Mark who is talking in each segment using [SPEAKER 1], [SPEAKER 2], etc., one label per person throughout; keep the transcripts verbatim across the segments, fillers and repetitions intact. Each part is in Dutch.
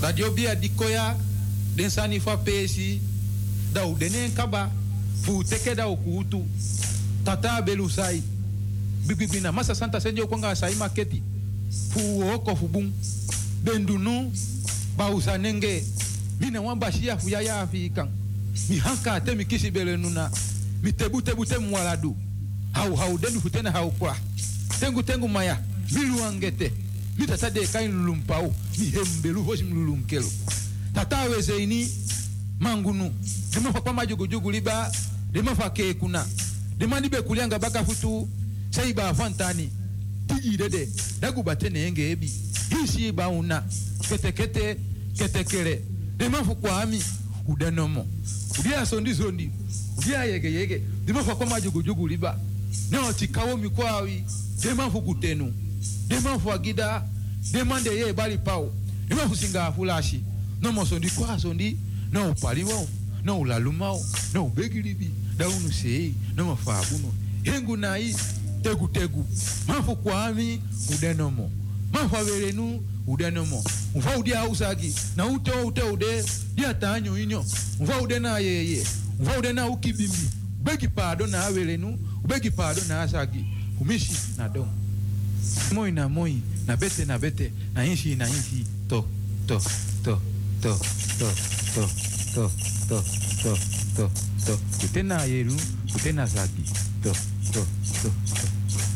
[SPEAKER 1] Radio Bia Dikoya, den Sani fa Pesi, da u denen kaba, fu teke da ukutu, tata belusai, bibibina, masa santa senjo kwanga sai maketi, fu oko fu bung, bendunu, bausa nenge, mina wamba shia fu yaya afikan, mi hanka te mi kisi bele nuna, mi tebu tebu te mwaladu, hau hau denu futena hau kwa, tengu tengu maya, milu angete, mi tata de kain lulumpau, mi hembelu hoshi mlulunkelo. Tata weze ini, mangunu, dema fa kwa majugu jugu liba, dema fa ke kuna, dema nibe kulianga baka futu, saiba fantani, tiji dede, dagu batene enge ebi, hisi ba una, kete kete, kete kere, dema fa kwa ami, udanomo, udia sondi sondi, udia yege yege, dema fa kwa majugu jugu liba, neo tikawo mikwawi, dema fa kutenu, dema fa gida, dema de ye bali pao, dema fa singa fulashi, no mo sondi kwa sondi, no paliwo, no lalumao, no begilibi, da unu sei, no mo fabuno, hengu nai, tegu tegu, mafu kwa ami, udenomo, mafu averenu, udenomo, mfa udia usagi, na ute ute ude, dia tanyo inyo, mfa ude na yeye, mfa ude na ukibimi, begi pado na averenu, begi pado na asagi, umishi na dom. Moi na moi, na bete na bete, na inshi na inshi, to, to, to, to, to, to, to, to, to, to, to, kutena yeru, kutena zagi, to, to, to, to.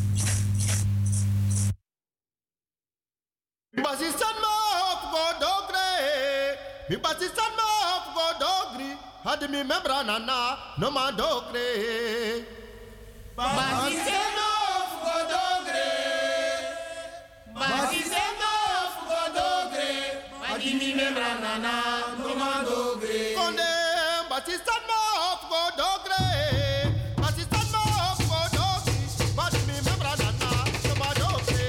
[SPEAKER 2] Basistan ma go dogre, mi basistan ma go dogri, had mi membra nana, no ma dogre.
[SPEAKER 3] Basistan ma go dogre, basistan ma go dogre, had mi membra nana, no ma dogre.
[SPEAKER 2] Konde basistan ma go dogre, basistan ma go dogri, had mi membra nana, no ma dogre.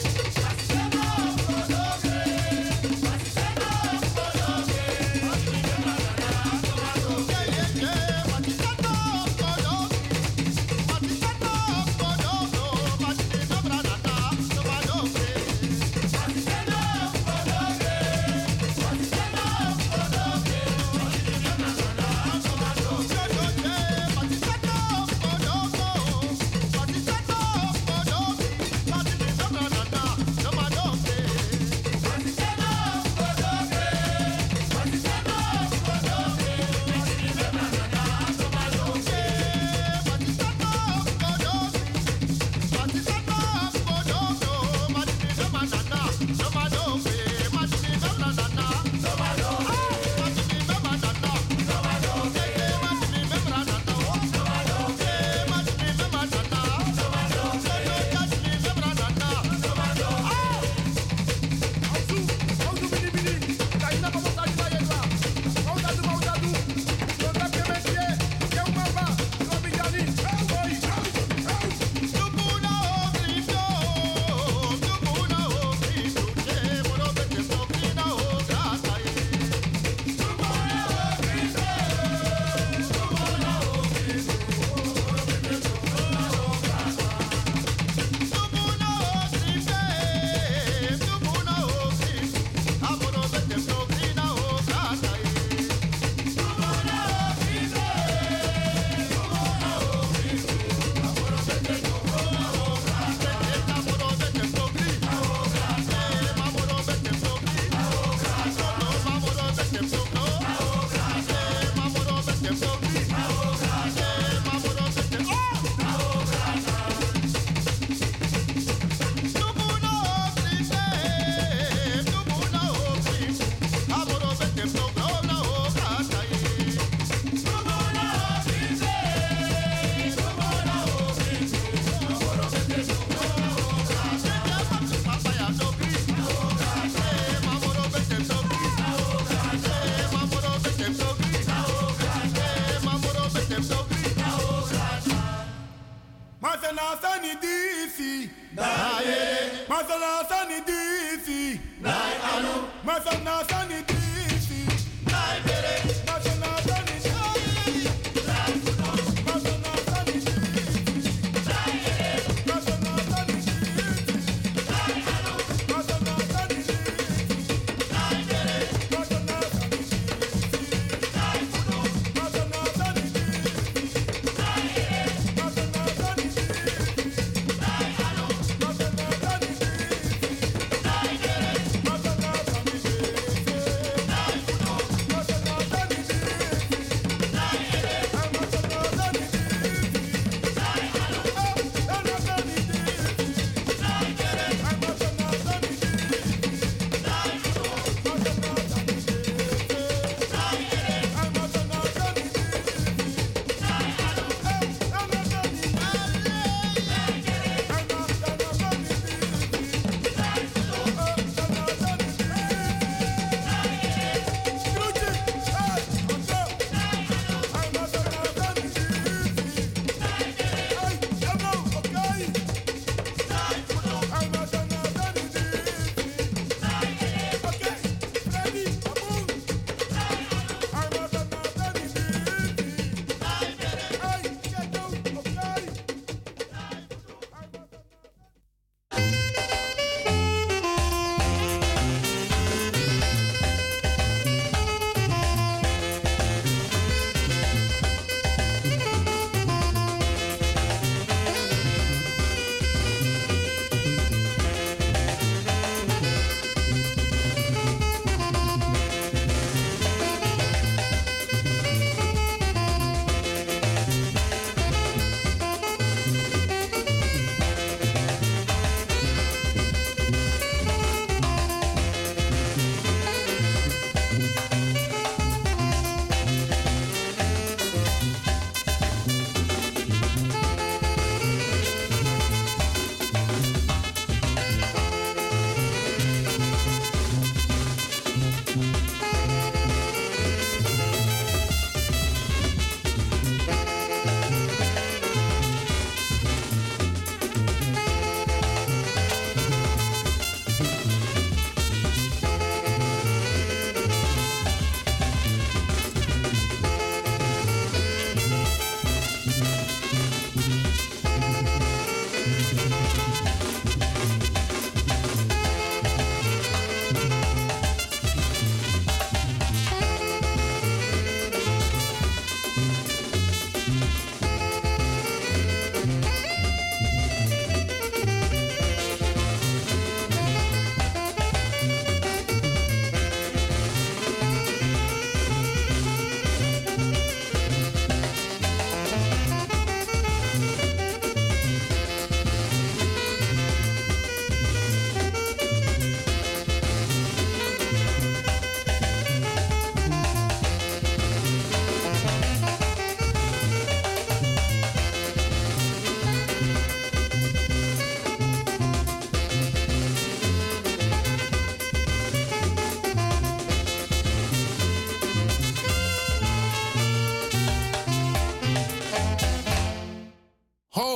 [SPEAKER 4] Masana sani difi, nai anu. Masana sani difi, nai bere. Masana sani difi, nai kuno. Masana sani difi, nai bere. Masana sani difi, nai anu. Masana sani difi, nai bere.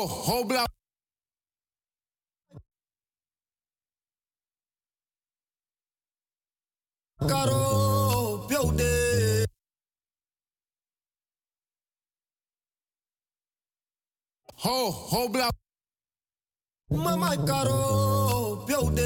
[SPEAKER 5] Ho, ho, bla.
[SPEAKER 6] Caro, piaude.
[SPEAKER 5] Ho, ho, bla.
[SPEAKER 6] Mama caro, piaude.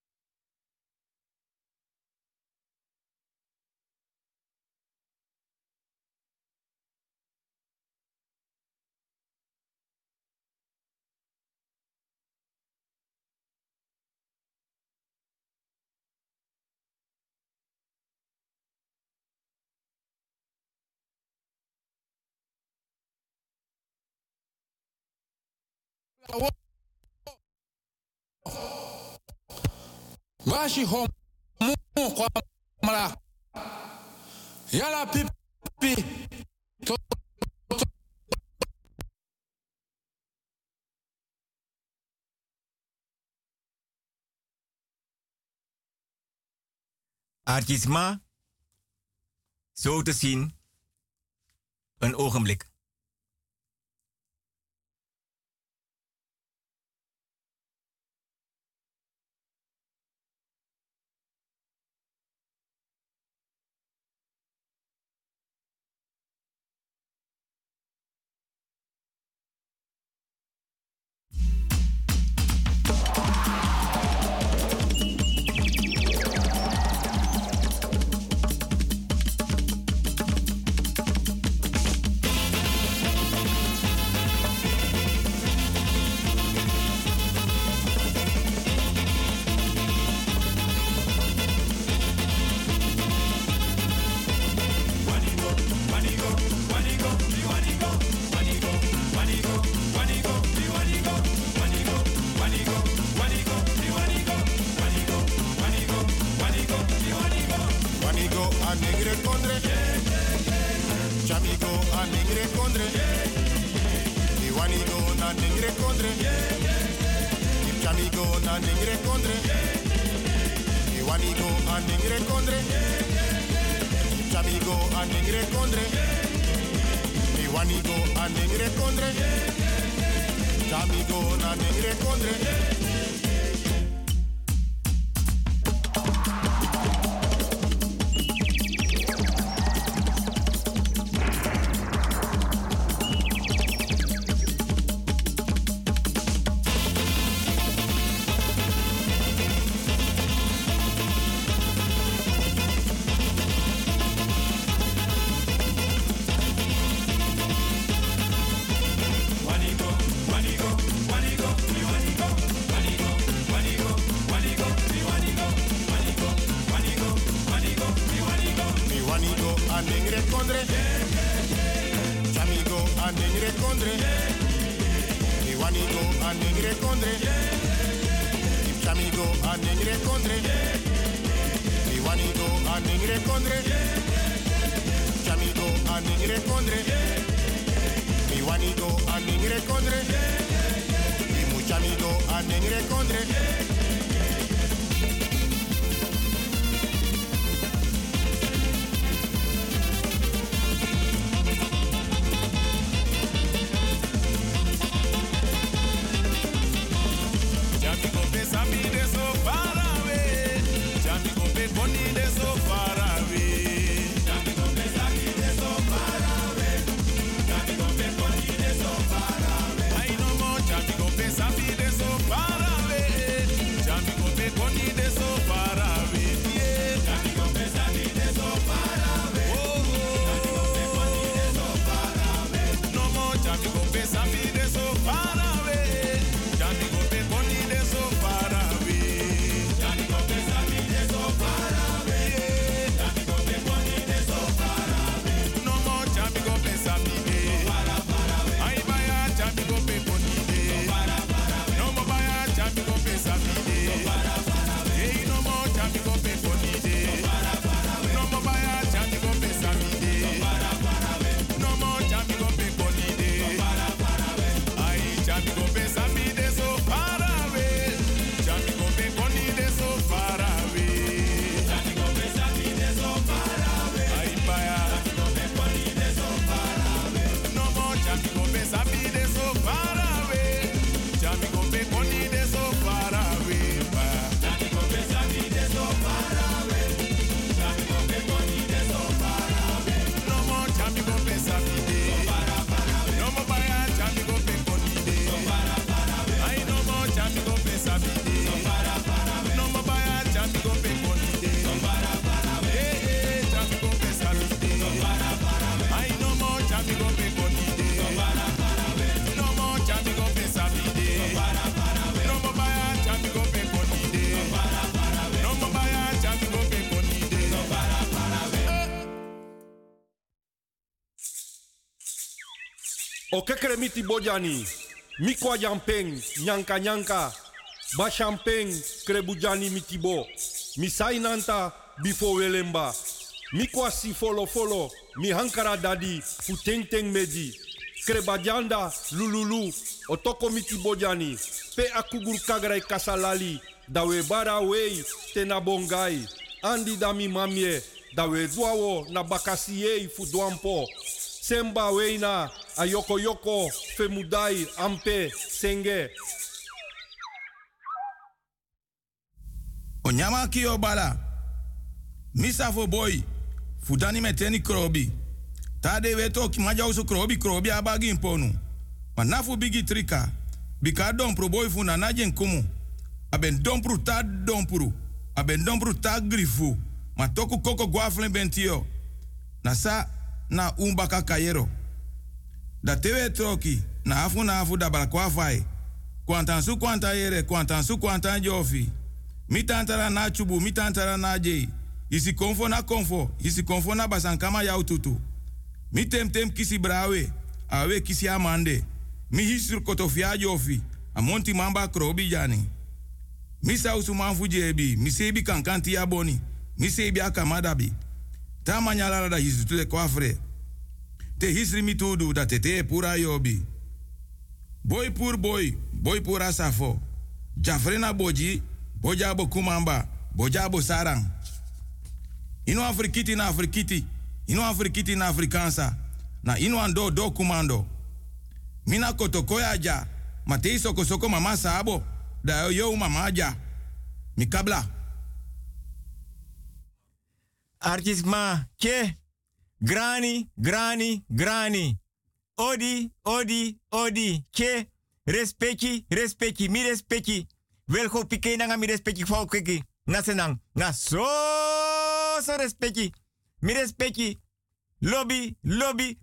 [SPEAKER 5] Mashi ho mu kwa mala. Yala pipi. To, to.
[SPEAKER 7] Artisma, zo te zien, een ogenblik.
[SPEAKER 8] O kekere miti bojani. Mikwa jampeng, nyanka nyanka. Ba champeng, krebujani mitibo. Misai nanta, bifo welemba. Mikwa si folo folo, mi hankara dadi, fu teng teng meji. Krebajanda, lululu, otoko miti bojani. Pe akugur kagrai kasalali, dawe bara wei, tena bongai. Andi dami mamie, dawe duawo na bakasiei fu duampo. Semba weina, ayoko yoko, femudai, ampe, senge.
[SPEAKER 5] Onyama kio bala. Misa fo boy. Fudani meteni krobi. Tade weto ki maja usu krobi krobi abagi imponu. Manafu bigi trika. Bika dompro boy funa najen kumu. Aben dompro ta dompro. Aben dompro ta grifu. Matoku koko guaflen bentio. Nasa na umbaka kayero. Da tewe troki. Na afu na afu da balakwa fai. Kwantansu kwanta yere. Kwantansu kwanta jofi. Mitantara na chubu. Mitantara na jei. Isi konfo na konfo. Isi konfo na basankama ya ututu. Mi tem tem kisi brawe. Awe kisi amande. Mi hisur kotofia jofi. Amonti mamba krobi jani. Mi sausu manfu jebi. Mi sebi kankanti ya boni. Mi sebi akamadabi. Ta manyala da hisu tule kwafre. Te hisri mi tudu da tete pura yobi. Boy pur boy. Boy pura safo. Jafrena boji. Bojabo kumamba. Bojabo sarang. Ino Afrikiti na Afrikiti. Ino Afrikiti na Afrikansa. Na ino ando do kumando. Mina kotokoya ja. Matei soko soko mama sabo. Da yo mama ja. Mikabla.
[SPEAKER 7] Artisma ke. Grani, grani, grani. Odi, odi, odi. Ke. Respecti, respecti, mi respecti. Welgo pike nanga mi respecti fau keki. Na senang. Na so so respecti. Mi respecti. Lobby, lobby,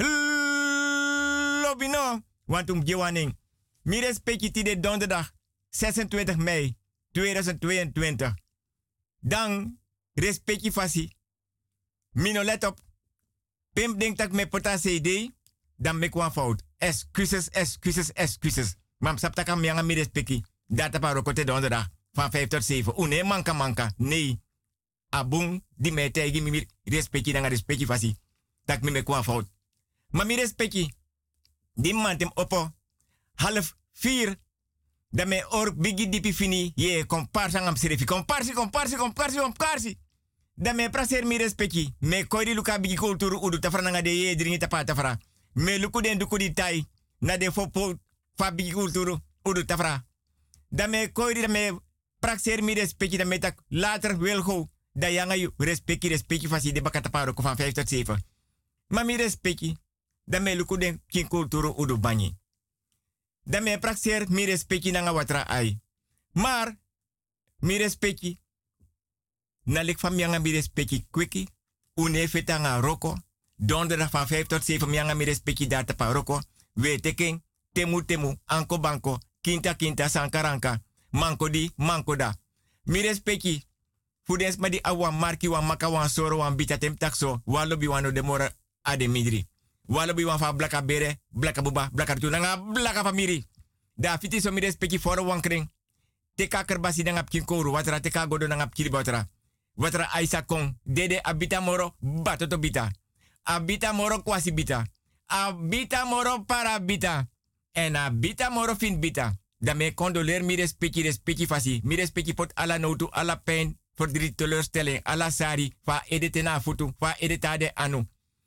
[SPEAKER 7] lobby no. Want um gewaning. Mi respecti ti de donderdag zesentwintig mei tweeduizend tweeëntwintig. Dan respecti fasi. Mino let op. Pim denk dat me pota C D. Dan me kwam fout. Excuses, excuses, excuses. Mam sap taka mianga mi respecti. Data pa rokote donderdag van vijf tot zeven. Une manka manka. Nee. Abung di me tegi mi respecti nanga respecti fasi. Tak mi me kwam fout. Maar mi respecti. Die man tem oppo. Half vier. Da me or bigi dipi fini. Ye komparsa ngam serefi. Komparsi, komparsi, komparsi, komparsi. Da me praser mi respecti. Me koiri luka bigi kulturu udu tafra nanga de ye dringi tapa tafra. Me luku den duku di tai. Na de fopo fa bigi kulturu udu tafra. Da me koiri da me praser mi respecti. Da me tak later wil go. Da yanga yu respecti respecti fasi de bakataparo ko van vijf tot zeven. Ma mi respecti. Da me luku den kin kulturu udu banyi. Da me praxer mi respecti nanga watra ai. Maar mi respecti na lik van mianga mi respecti kwiki. Une fetanga roko. Donderdag van vijf tot zeven mianga mi respecti data pa roko. We teken temu temu anko banko kinta kinta sankaranka. Manko di manko da. Mi respecti fudens ma di awa marki wan maka wan soro wan bita tem takso. Walobi wano demora ade midri. Walobi wan fa blaka bere, blaka buba, blaka tunanga, blaka famiri. Da fiti so mi respecti foro wan kring. Teka kerbasi nangap kinkoru, watra teka godo nangap kiri batra. Watra aisa kong, dede abita moro, batoto bita. Abita moro kwasi bita. Abita moro para bita. En abita moro fin bita. Da me condoleer mi respecti, respecti fasi. Mi respecti pot ala notu, ala pijn, verdriet, teleurstelling, ala sari, fa edete na futu, fa edetade anu.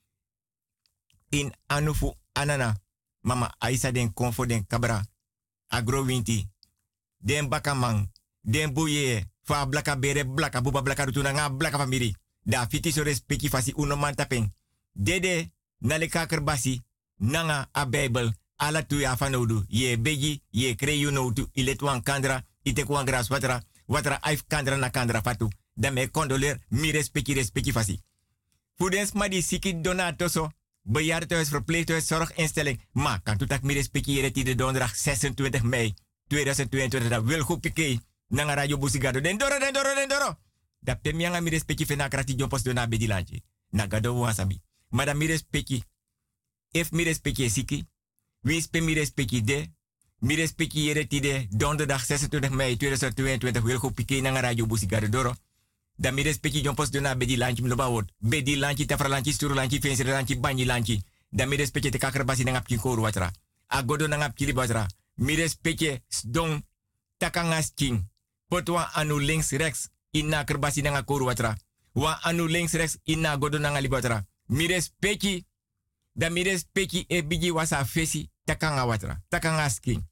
[SPEAKER 7] In anufu anana. Mama Aisa den konfo den kabra. Agro winti. Den bakamang. Den buye. Fa blaka bere blaka buba blaka rutuna nga blaka famiri. Da fiti so respecti fasi uno man tapeng. Dede naleka kerbasi. Nanga a Bijbel. Ala tu ya fanodu. Ye beji. Ye kreyu no tu. Iletwan kandra. Itekwan gras watra. Watra aif kandra na kandra fatu. Da me condoleer. Mi respecti respecti fasi. Fudens ma di siki donatoso. Bejaardentehuis, verpleeghuis, zorginstelling. Maar kan toetak mi respectiëren die de donderdag zesentwintig mei tweeduizend tweeëntwintig. Dat wil goed pikee. Nanga radio busigado. Den doro, den doro, den doro. Dat pe mianga mi respecti fena krati jompos do na bedilantje. Na gado wasabi. Maar dat mi respecti. If mi respecti siki. Wie spe mi respecti de. Mi respecti yere tide donderdag zesentwintig mei tweeduizend tweeëntwintig wil go pike na radio Busigado Doro. Da mi respecti jompos dona bedi lanchi mloba word. Bedi lanchi tafra lanchi sturu lanchi fensi lanchi banyi lanchi. Da mi respecti te kakrabasi na ngapki koru watra. Agodo na ngapki li watra. Mi respecti don takangas king. Potwa anu links rechts inna kerbasi na koru watra. Wa anu links rechts inna godo na ngali watra. Mi respecti da mi respecti e bigi wasa fesi takanga watra. Takangas king.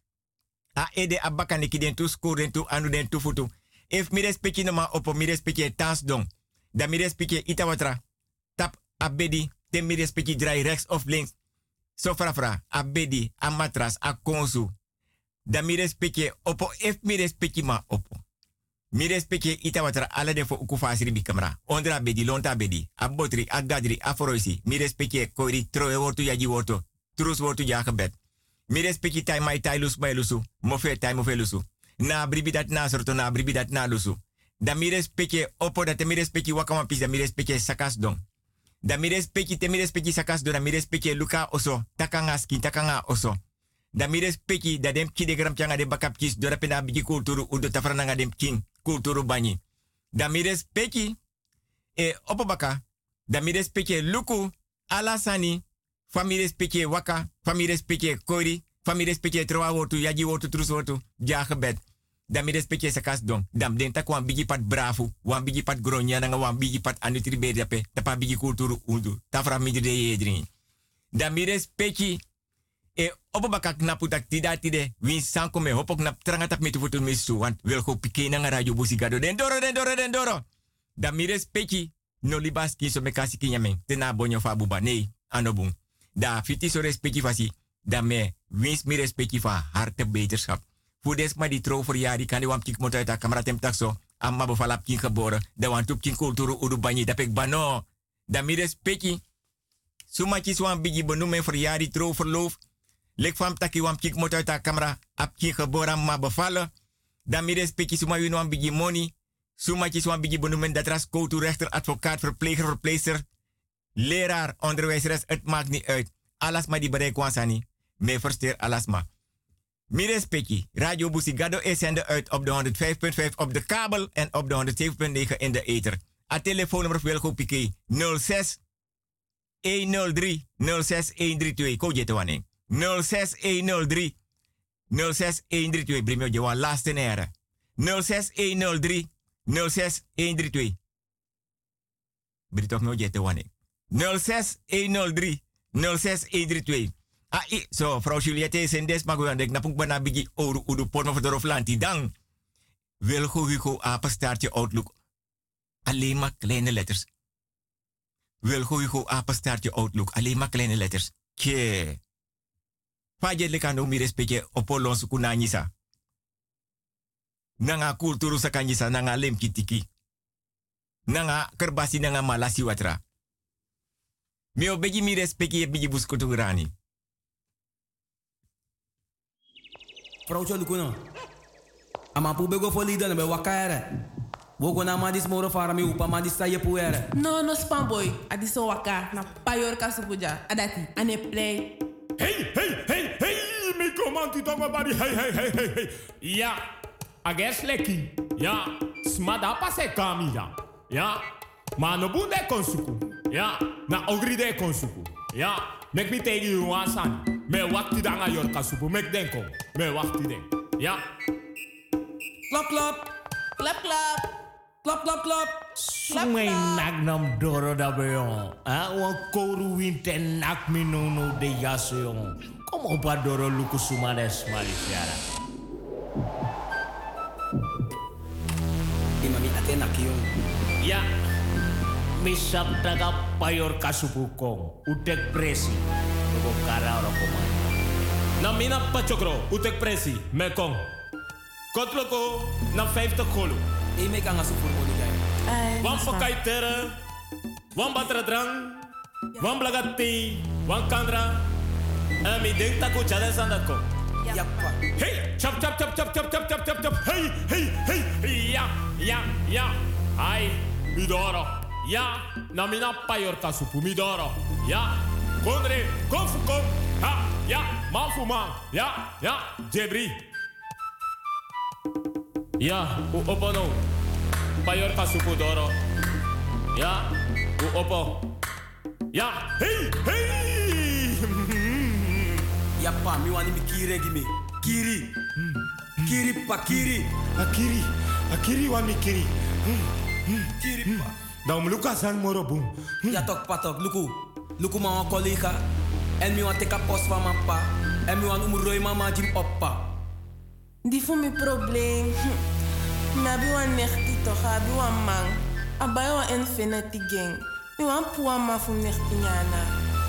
[SPEAKER 7] A ede abaka neki den tu score den tu anu den tu futu. If mi respecti no ma opo mi respecti tans don. Da mi respecti ita watra. Tap abedi te mi respecti dry rechts of links. So frafra abedi a matras a konsu. Da mi respecti opo if mi respecti ma opo. Mi respecti ita watra ala de fo ukufasiri bi kamera. Ondra bedi lonta bedi. A botri a gadri a foroisi. Mi respecti koiri troe wortu yaji wortu. Trus wortu ja gebed. Mi respecti tai mai tai lus mai lusu. Mofe tai mofe lusu. Na bribi dat na sorto na bribi dat na lusu. Da mi respecti opo da te mi respecti wakama pis da mi respecti sakas don. Da mi respecti te mi respecti sakas don da mi respecti luka oso. Takanga skin takanga oso. Da mi respecti da dem ki de gram changa de bakap kis do da pena bigi kulturu udo tafrananga dem king kulturu bani. Da mi respecti e opo baka da mi respecti luku alasani fami respecti waka fami respecti kori fami respecti troa wotu yaji wotu trus wotu ja gebed. Da mi respecti sakas don. Dam den tak wan bigi pat bravo, wan bigi pat gronya nanga wan bigi pat anutri bediape, tapa bigi kulturu udo. Tafra mi de yedrin. Da mi respecti e opo baka knapu tak tida tide win sanko me hopok nap trangatap me tufutu misu want wil go pike na radio Busigado den doro den doro den doro. Da mi respecti no libas ki so me kasi kinyamen tena bonyo fa buba nee anobung. Da fiti so respecti fasi da me wins mi respecti fa harte beterschap. Fudes ma di tro voor jari kan die wampik moet uit de camera tem takso. Amma bevalap kin geboren. De wantup kin kulturu udu banyi dapek bano. Da mi respecti. Sumachi swan bigi benoemen voor jari tro verloof. Lek van taki wampik moet uit de camera. Ap kin geboren ma bevallen. Da mi respecti suma win wan bigi money. Sumachi swan bigi benoemen dat ras koutu rechter, advocaat, verpleger, verpleegster. Leraar, onderwijzeres, het maakt niet uit. Alles maar die bereik wansani. Me versteer alles maar. Mi respecti, Radio Busigado is zender uit op de honderd vijf punt vijf op de kabel en op de honderd zeven punt negen in de ether. A telefoonnummer Wilgo Piqué nul zes honderd drie nul zes honderddraaitwee. Ko je te wanneer? nul zes honderd drie nul zes honderddraaitwee. Brimio je wan laatste nere. nul zes honderd drie nul zes honderddraaitwee. Britof no je te wanneer? nul zes honderd drie nul zes honderddraaitwee. Ah, i, so, vrouw Juliette is in des, maar we denken, napuk bana bigi oru udu porno voor de roflanti. Dan Wilgo Hugo apenstaartje Outlook. Alleen maar kleine letters. Wilgo Hugo apenstaartje Outlook. Alleen maar kleine letters. Kje. Faje lekano mi respecte opolon sukunanyisa. Nanga kulturu sakanyisa, nanga lemkitiki. Nanga kerbasi nanga malasi watra. Mi obegi mi respecte bigi buskuturani.
[SPEAKER 9] Vrouw Cholukuno. Ama pu bego fo lida na be wakaere. Wogo na madis moro fara mi upa madis sa ye puere.
[SPEAKER 10] No no spam boy. Adiso waka na payor kasupuja. Adati ane play.
[SPEAKER 4] Hey hey hey hey mi komanti tonga bari hey hey hey hey hey. Ja. Ages leki. Ja. Smada pase kamia. Ja. Ma no bunde konsuku. Ja. Na ogri de konsuku. Ja. Mek mi tegi you wasan. Me wakti danga yor kasupu. Mek denko. Me wakti den. Ja.
[SPEAKER 9] Klap klap.
[SPEAKER 10] Klap klap.
[SPEAKER 9] Klap klap klap.
[SPEAKER 3] Sumay nagnam doro da beyon. Ah, wan koru winten nak mi no no de yaso yon. Kom op a doro luku sumades marisiara.
[SPEAKER 9] Imami atena kiyon.
[SPEAKER 3] Ja. Misap taga payor kasupukong. Utek presi. Nugo kara ora komay.
[SPEAKER 4] Na mina pachokro. Utek presi. Mekong. Kotloko. Na vijftig golo.
[SPEAKER 9] E me kan asu voor moli gay.
[SPEAKER 4] Wan pakai tere. Wan batra drang. Wan blagati. Wan kandra. En mi denk taku chade sandako.
[SPEAKER 9] Ja pa.
[SPEAKER 4] Hey. Chap chap chap chap chap chap chap chap chap. Hey hey hey. Ja ja ja. Ai. Midoro. Ja, na mina payor kasupu midoro. Ja, kondre, kom kom.
[SPEAKER 3] Ha, ja, man voor man. Ja, ja, Jebri. Ja, u opo no. Payor Kasupudoro. Ja, u opo. Ja, hey, hey.
[SPEAKER 9] Ja, pa, mi wani mi kiri gimi. Kiri. Kiri pa, kiri.
[SPEAKER 4] Akiri, akiri wa mi kiri.
[SPEAKER 9] Kiri pa.
[SPEAKER 4] Dan Lucas aan moro boom.
[SPEAKER 9] Ja, tok patok, luku. Luku ma wan collega. En mi wan teka post van mijn pa. En mi wan umroi mama jim oppa.
[SPEAKER 10] Die voor mijn probleem. Maar bij wan nechti toch, bij wan man. Abai wan infinity gang. Mi wan puwa ma voor nechti nyana.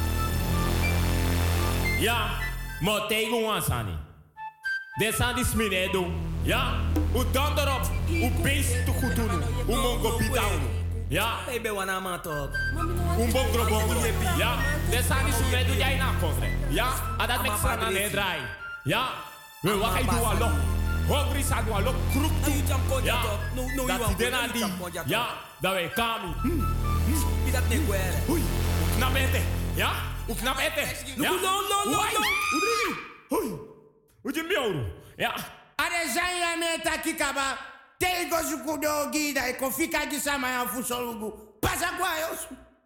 [SPEAKER 3] Ja, maar tegen ons aan. Dit zijn die sminen doen. Ja, u dan erop. U beest te goed doen. U mongo pitao. Ja.
[SPEAKER 9] Ik ben wana ma toch.
[SPEAKER 3] Un bon gro bon gro. Ja, dit zijn die sminen doen jij na kofre. Ja, en dat met z'n aan het draai. Ja, we wat hij doet alok. Hongri sa doet alok kroep toe. Ja, dat die den aan die. Ja, dat wij kami.
[SPEAKER 9] Wie dat niet kwere.
[SPEAKER 3] Oei, knap eten. Ja, hoe knap eten. Ja,
[SPEAKER 9] no, no, no, no.
[SPEAKER 3] Oei, hoe je miauw. Ja.
[SPEAKER 11] Are zijn ya meta kikaba. Tego sukudo gida e kofika gisama ya fusolugu. Pasa kwa yos.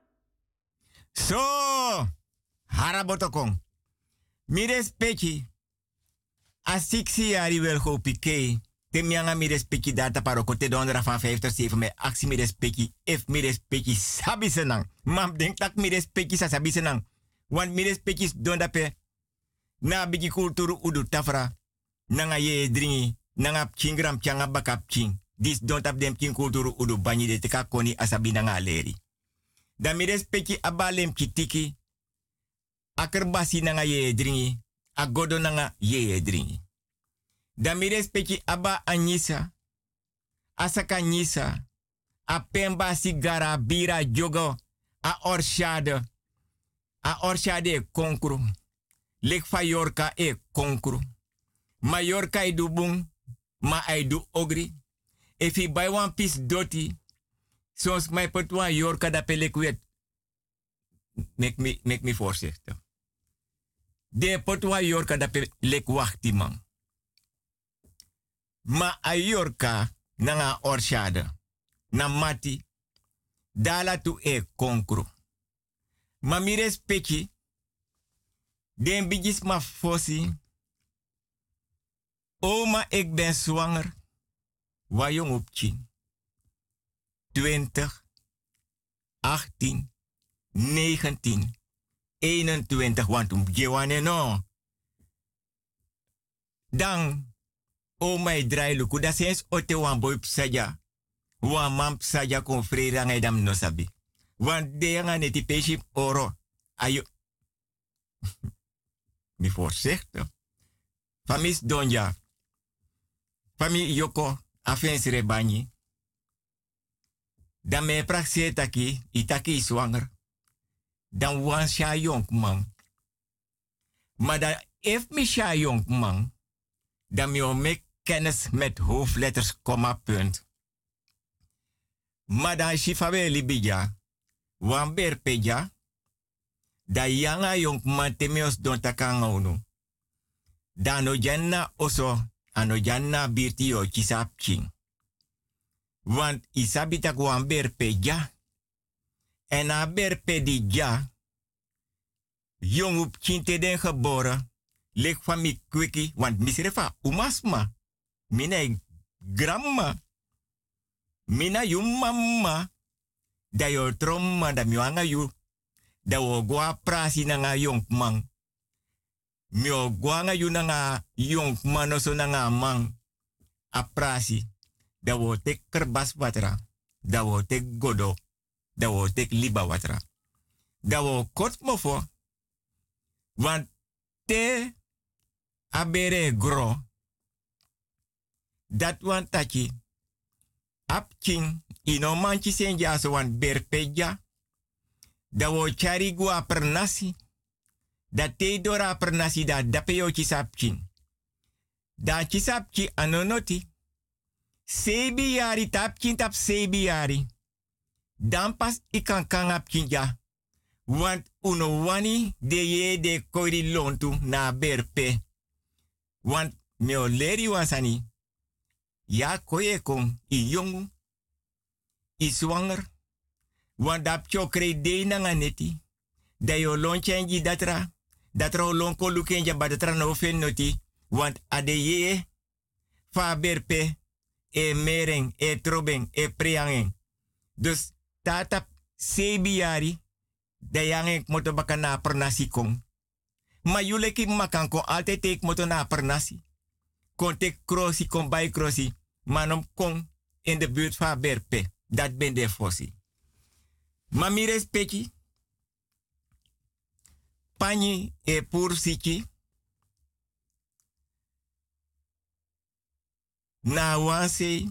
[SPEAKER 7] So, harabotokong. Mi respecti. A siksi jari wel go pike. Te mianga mi respecti data paroko te dondera van vijftig zeven me actie mi respecti. If mi respecti sabi senang. Mam denk tak mi respecti sa sabi senang. Want mi respecti donda pe. Na bigi kulturu udu tafra. Nanga ye dringi. Nanga chingram changa bakap ching. Dis don't have them king kulturu udu banyi de teka koni asabi nanga leri. Da mi respecti abalem kitiki. Akerbasi nanga ye dringi. Agodo nanga ye dringi. Da mi respecti aba anyisa. Asaka nyisa. A pemba sigara bira jogo. A orshade. A orshade e konkru. Lek Fayorka e konkru. Mallorca e du bung. Ma ai du ogri. If he buy one piece doti. Soms mij put one Yorka da pelek wet. Make me, make me voorzichtig. De put one Yorka da pelek wachti man. Ma a Yorka nanga orshade. Na mati. Dala tu e konkru. Ma mi respecti. Den bigis ma fossi. Oma, ik ben zwanger. Waar jong op tien. twintig. achttien. negentien. eenentwintig. Want om gewane no. Dan. Oma, ik draai luku. Dat is ote wan boy psaja. Wan man psaja kon vrede ngai dam no sabi. Want de nga neti peshi oro. Ayo. Mi voorzichtig. Famis donja. Fami yoko afensire banyi. Dan me praxe taki, itaki zwanger. Dan wan sha jong man. Maar dan if mi sha jong man, dan mi mek kennis met hoofdletters, komma, punt. Maar dan shifawe libija, wan berpeja, da yanga jong man temios don takanga unu. Dan no janna oso, ano janna birti yo kisap ching. Want isabita kwa berpe ja. En a berpe di ja. Jong op kinte den geboren. Lek van mi kwiki. Want misrefa umasma. Mina gramma. Mina yu mama. Da yo tromma da miwanga yu. Da wo gwa prasi na nga yong mang. Mio guanga yu na nga yong manoso na nga mang. A prasi. Da wo tek kerbas watra. Da wo tek godo. Da wo tek liba watra. Da wo kot mofo. Want te abere gro. Dat wan taki. Ap king. Ino manchi senja so wan berpeja. Da wo chari gua pernasi. Da te dora pernasi da dapeo chisap king. Da chisap ki anonoti. Sebi yari tap kin tap sebi yari. Dan pas ikan kan ap kin ja. Want uno wani de ye de koiri lontu na berpe. Want meo leri wansani. Ja koye kon i jongu. I zwanger. Want dat chokre de na neti. Da yo lonchenji datra. Datra lonko lukenja badatra no fen noti. Want ade ye. Fa berpe. E mereng, e trobeng, e preangen. Dus tata sebiari. Da yang moto baka na pernasi kong. Ma yule ki makan kon altijd tek moto na pernasi. Kon tek krosi, kon bij krosi. Manom kong in de buurt van Berpe. Dat ben de fossi. Ma mi respecti. Pani e pur siki. Na wanse.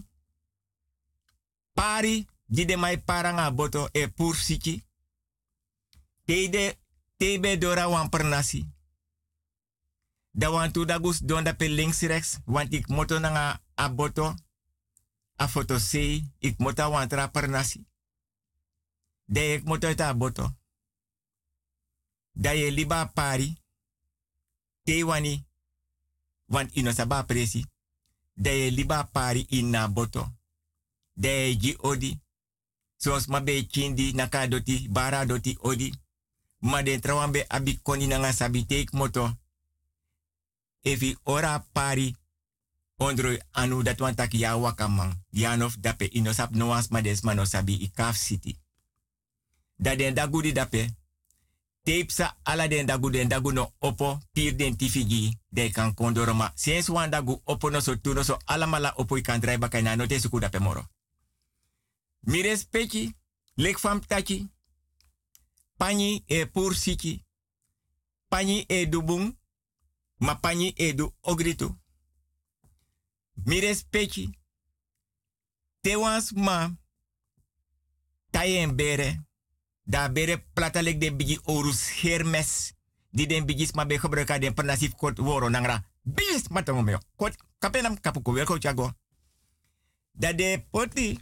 [SPEAKER 7] Pari di de mai paranga boto e pur siki. Teide, tebe dora wan pernasi. Da wan tu dagus don da pe links rechts. Want ik moto nanga aboto. A foto se. Ik moto wan tra pernasi. De ik moto ta aboto. Da ye liba pari. Te wani. Want ino saba presi. Da ye liba pari in na boto. Da ye ji odi. Sos mabe chindi naka doti. Bara doti odi. Ma den trawambe abi koni nanga sabi take moto. Efi ora pari. Ondro anu dat wan tak ya wakamang. Yanof dape inosap noas ma des mano sabi i kaf city. Da den dagu di dape. Tapesa ala den dagu den dagu no opo pir den tifigi. De kan kondoroma. Sens wan dagu opo no so tu no so alamala opo i kan drai bakay na no te suku dape moro. Mi respecti. Lek fam tachi. Pani e pur siki. Pani e dubung. Ma pani e du ogritu. Mi respecti. Te wans ma. Tayen bere. Da bere platalek de bigi orus hermes. Di den bigis ma be gebruika den pernasif kot woro nangra. Bis matongo meo. Kot kapenam kapuko welko chago. Da de poti.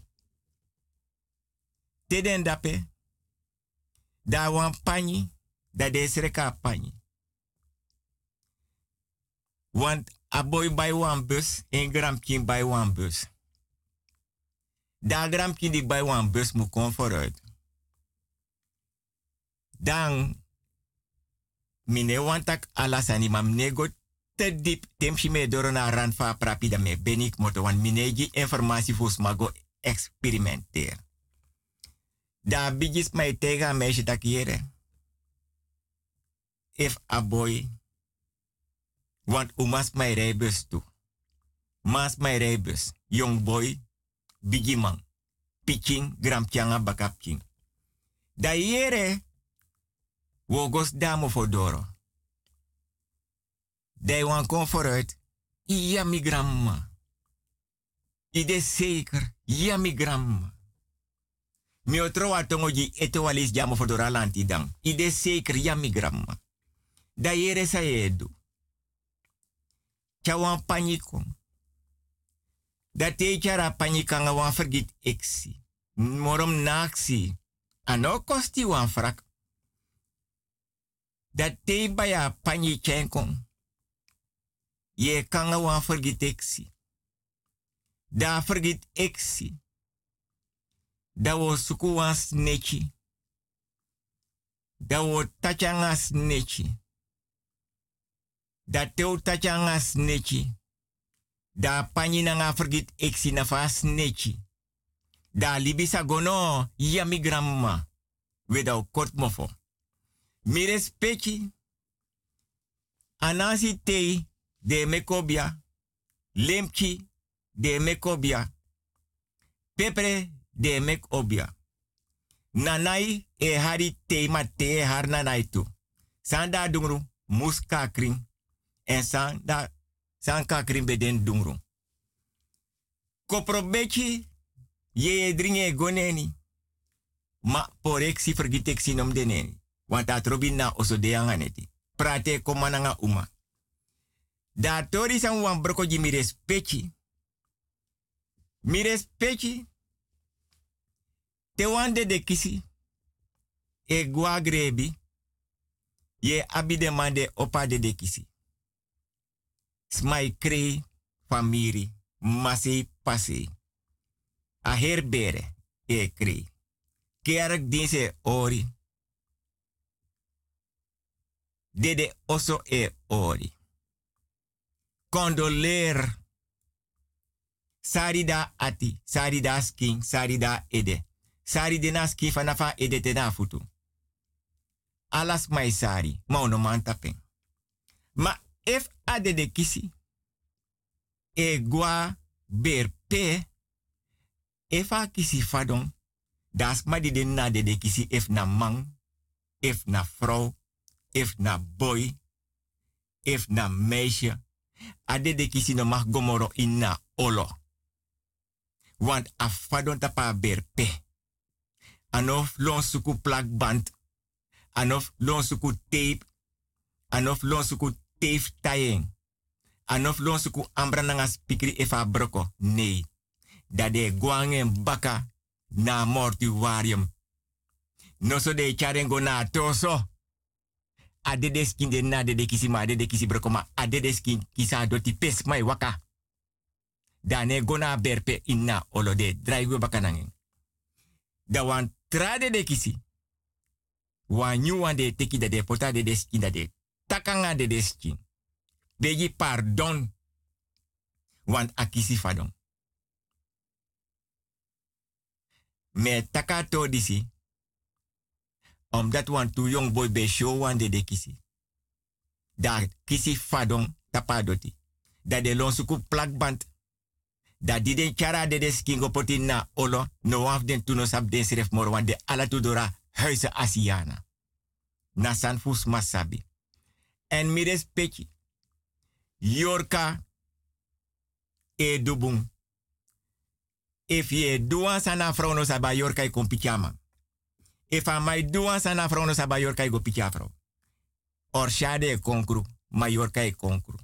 [SPEAKER 7] Te den dape. Da wan pani, da de sreka pani. Want a boy bij wan bus, en gramkin bij wan bus. Da gramkin die bij wan bus moet komen vooruit. Dan, mine wantak alasani, maar mine go te diep, temsi me door na ran fa prapida me benik moto, want mine gi informatie fos mago experimenteer. Da bigis mij tegen een meisje dat hier. If a boy. Want u mas mij rijbus toe. Mas mij rijbus. Young boy. Bigi man. Pitching. Gramtjanga bakapking. Da hier. Wogos damo fodoro. Da wan kom vooruit. Ja mi gramma. Ide zeker. Ja mi gramma. Mi otro atongoji eto walis jamo fodora lanti dang. Ide zeker ya mi gramma. Da yere sa edu. Chawan panikon. Da te chara panikanga wan vergit eksi. Morom naksi. Ano kosti wan frak. Da te baya panichenkon. Ye kanga wan vergit eksi. Da vergit eksi. Da wo suku wan snechi. Da wo tachanga snechi. Da teu tachanga snechi. Da pani nanga vergit eksi na fa snechi. Da libisa gono yami gramma. Weda kort mofo. Mi respecti. Anasi tei de mekobia. Lemchi de mekobia. Pepre de mek obia. Nanai e hari tema te har nanai tu. Sanda dungru muska kring. En sanda sanka kring beden dungru. Koprobechi ye dringe goneni. Ma poreksi vergiteksi nom deneni. Want dat robin na oso de anganeti. Prate komananga uma. Da tori san wan broko ji mi respecti. Mi respecti. Te wande de kisi. e gwa grebi, ye abi demande opa de dekisi. Smai krei famiri, masei pasei. A herbere e krei. Kerk dinse ori. Dede oso e ori. Condoleer. Sarida ati, sarida skin, sarida ede. Sari na skin fanafa ede te na futu. Alas mai sari, ma ono man tapen. Ma if ade de kisi, e gwa berpe, efa kisi fadon, das ma di de na de de kisi if na man, if na vrouw, if na boy, if na meisje, ade de kisi no mag gomoro in na olo. Want afadon tapa berpe. Anof lon suku plakband. Anof lon suku tape. Anof lon suku tape tying. Anof lon suku ambra nanga spikri efa broko. Nee. Dade guangen baka na mortuarium. No so de charengo na toso. Ade de skin de na de de kisi ma ade de kisi broko ma ade de skin kisa doti pes mai waka. Dane gona berpe inna olo de draigo bakanangin. Da wan trade de kisi. Wan nyu wan de teki da de pota de de skin da de takanga de de skin. Begi pardon. Wan akisi fadon. Me takato disi. Omdat wan tu young boy be show wan de de kisi. Daar kisi fadon tapadoti. Da de lonsuku plakband. Da di den chara de de skingo poti na olo, no waf den tuno sab den sref moro, wan de ala tudora huise Asiana. Na san fus masabi. En mi respecti. Yorka e dubung. If ye duan sana frono saba yorka i kon pichama. If a mai duan sana frono saba yorka i go pichafro. Or shade e konkru, ma yorka e konkru.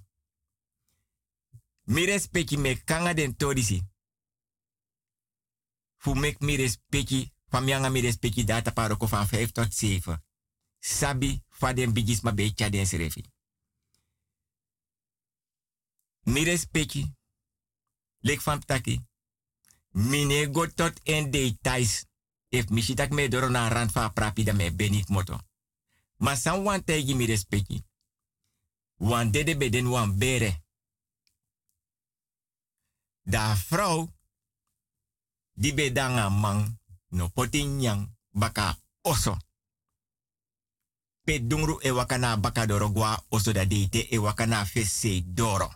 [SPEAKER 7] Mi respecti me kanga den todisi. Fu mek mi respecti, famianga mi respecti data paroko van vijf tot zeven. Sabi fa den bigis ma becha den srefi. Mi respecti, lek van taki. Mine go tot en details. If mi shitak me doro na rand fa prapi da me benit moto. Ma san wan tegi mi respecti. Wan dede beden wan bere. Da vrouw, die bedanga man, no potin yang, baka oso. Pe dungru e wakana baka doro gwa oso da deite e wakana fese doro.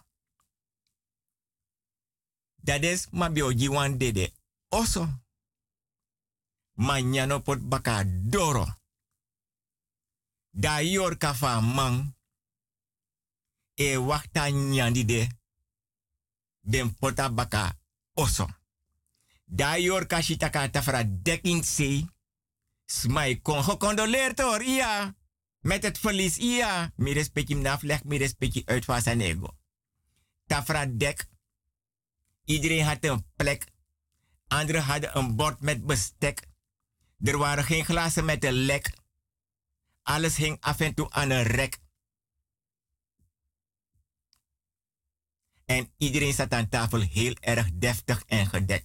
[SPEAKER 7] Dades mabio jiwan dede oso. Manyano pot baka doro. Da yor kafa man, e wakta nyandi de. Den pota baka oso. Da yor kashitaka tafra dekking se. Smai kon gecondoleerd hoor, ja. Met het verlies, ja. Mi respecti mnafleg, mi respecti uit van zijn ego. Tafra dek. Iedereen had een plek. Anderen hadden een bord met bestek. Er waren geen glazen met een lek. Alles hing af en toe aan een rek. En iedereen zat aan tafel heel erg deftig en gedekt.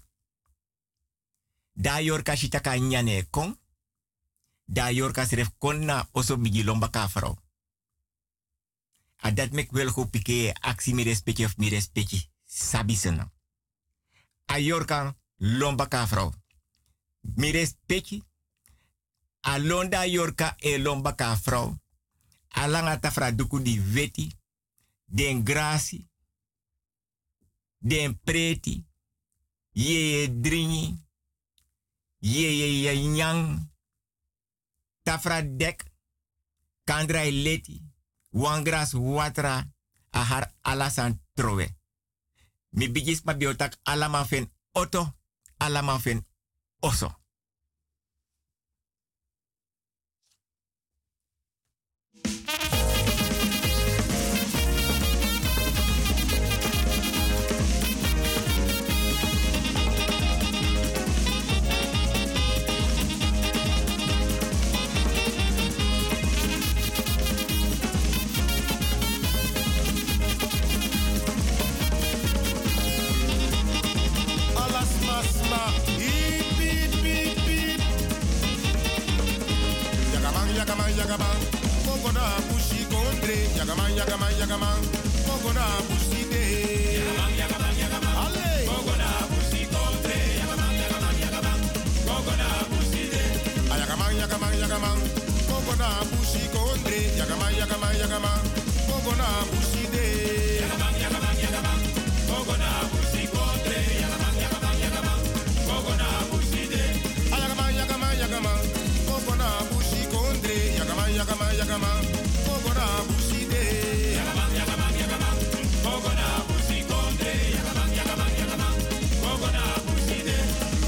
[SPEAKER 7] Da yorka shitaka nyane kon. Da yorka sref kon na oso bigi lomba ka vrouw. A dat mek wel go pike actie mi respecti of mi respecti. Sabisena. A yorka lomba ka vrouw. Mi respecti. A londa yorka e lomba ka vrouw. A langa tafra duku di veti. Den grasi. Den preti, ye ye dringi, ye ye ye nyang, tafra dek, kandrai leti, wangras watra, ahar alasan trowe. Mi bigis ma biotak alaman fen oto, alaman fen oso.
[SPEAKER 12] yagaman, yagaman. Kogona bushi kondre. Yagaman, yagaman, yagaman. Kogona bushi de. Yagaman, yagaman, yagaman. Ale. Kogona bushi kondre. Yagaman, yagaman, yagaman. Kogona bushi de. Ayagaman, yagaman, yagaman. Kogona bushi kondre. Yagaman, yagaman, yagaman. Kogona bushi de. Yagaman, yagaman, yagaman. Kogona bushi kondre. Yagaman, yagaman, yagaman. Kogona bushi de. Ayagaman, yagaman, yagaman. Kogona bushi kondre. Yagaman, yagaman, yagaman. Kogona bushi de. Yagaman, yagaman, yagaman. Kogona bushi kondre. Yagaman, yagaman, yagaman. Kogona bushi de.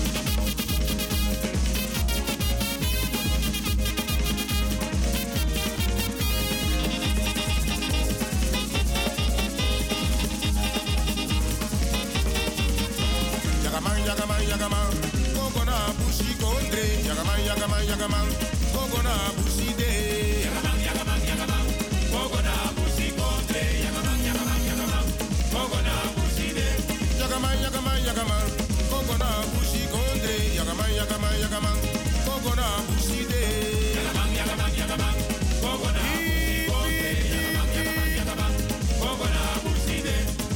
[SPEAKER 12] Yagaman, yagaman, yagaman. Kogona bushi kondre. Yagaman, yagaman, yagaman. Kogona bushi de. Yagaman, yagaman, yagaman. Kogona bushi kondre. Yagaman, yagaman, yagaman. Kogona bushi de. Yagaman, yagaman, yagaman. Kogona bushi kondre. Yagaman, yagaman, yagaman. Kogona bushi de. Yagaman, yagaman, yagaman. Kogona bushi kondre. Yagaman, yagaman, yagaman. Kogona bushi de.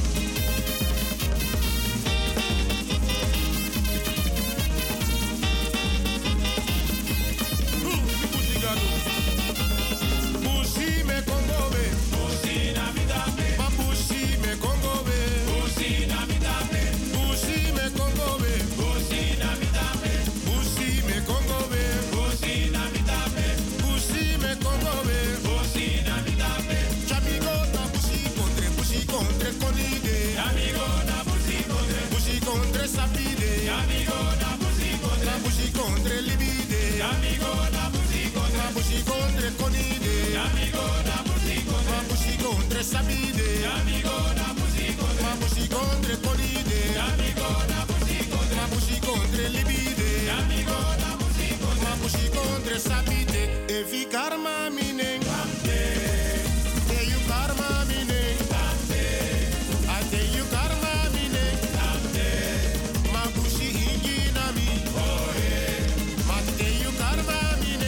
[SPEAKER 12] Bushi me kongobe, bushi na midape, ma bushi me kongobe, bushi na midape, bushi me kongobe, bushi na midape, bushi me kongobe, bushi na midape, bushi me kongobe, bushi na midape. Chamigo na bushi contre, bushi contre konide, amigo na bushi contre, bushi contre sapide, amigo na bushi contre, bushi contre libide, amigo na bushi contre, bushi contre konide, amigo na bushi contre, bushi contre sapide, amigo na bushi contre, bushi contre konide, amigo na bushi contre, bushi contre libide, amigo na bushi contre, bushi contre sapide. Efi karma mine, te you karma mine, ate you karma mine, ma bushi ingi na mi, ma te you karma mine,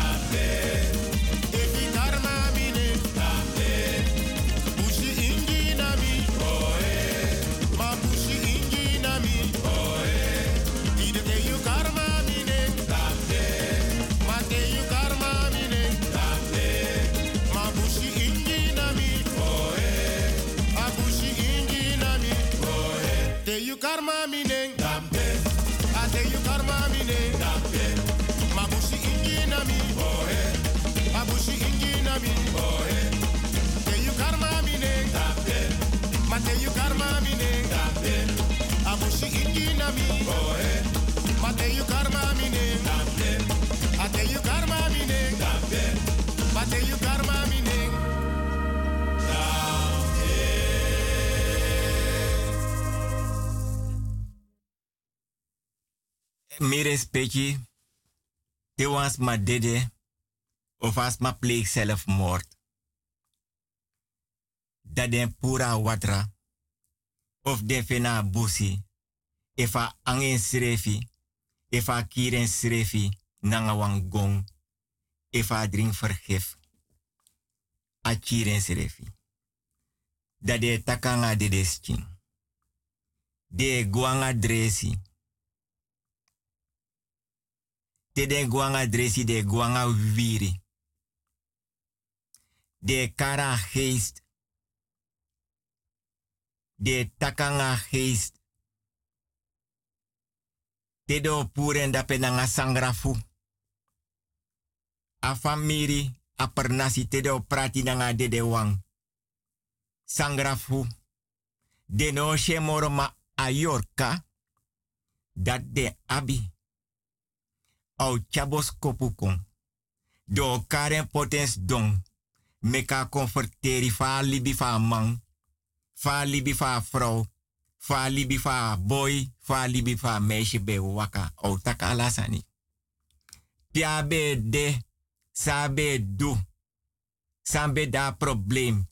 [SPEAKER 12] efi karma mine, bushi ingi na mi, ma bushi ingi na mi, ide te you karma mine, ma te you karma mine, ma bushi ingi na mi, a bushi ingi na mi, te you karma mine, a te you karma mine, ma bushi ingi na mi, a bushi ingi na mi, te you karma mine, ma te you karma mine, a bushi ingi na mi, ma te you karma mine, a te you karma mine, ma te you karma mine.
[SPEAKER 7] Mi respecti, te was ma dede, of as ma pleeg zelfmoord. Dat den pura watra, of den fena busi, efa angen srefi, efa kiren srefi, nanga wang gong, efa drink vergif, a kiren srefi. Dat de takanga de desching, de guanga dresi, de den guanga dresi de guanga wiri. De kara geest. De takanga geest. De do puren da penanga sangrafu. A famiri a pernasi te do prati nanga de de wang. Sangrafu. De no shemoro ma ayorka. Dat de abi. Au chabos kopukon. Do karen potens dong. Meka converteri fa libi fa man. Fa libi fa vrouw. Fa libi fa boy. Fa libi fa meisje be waka. Au taka alasani. Pia be de. Sabe du. Sambe da probleem.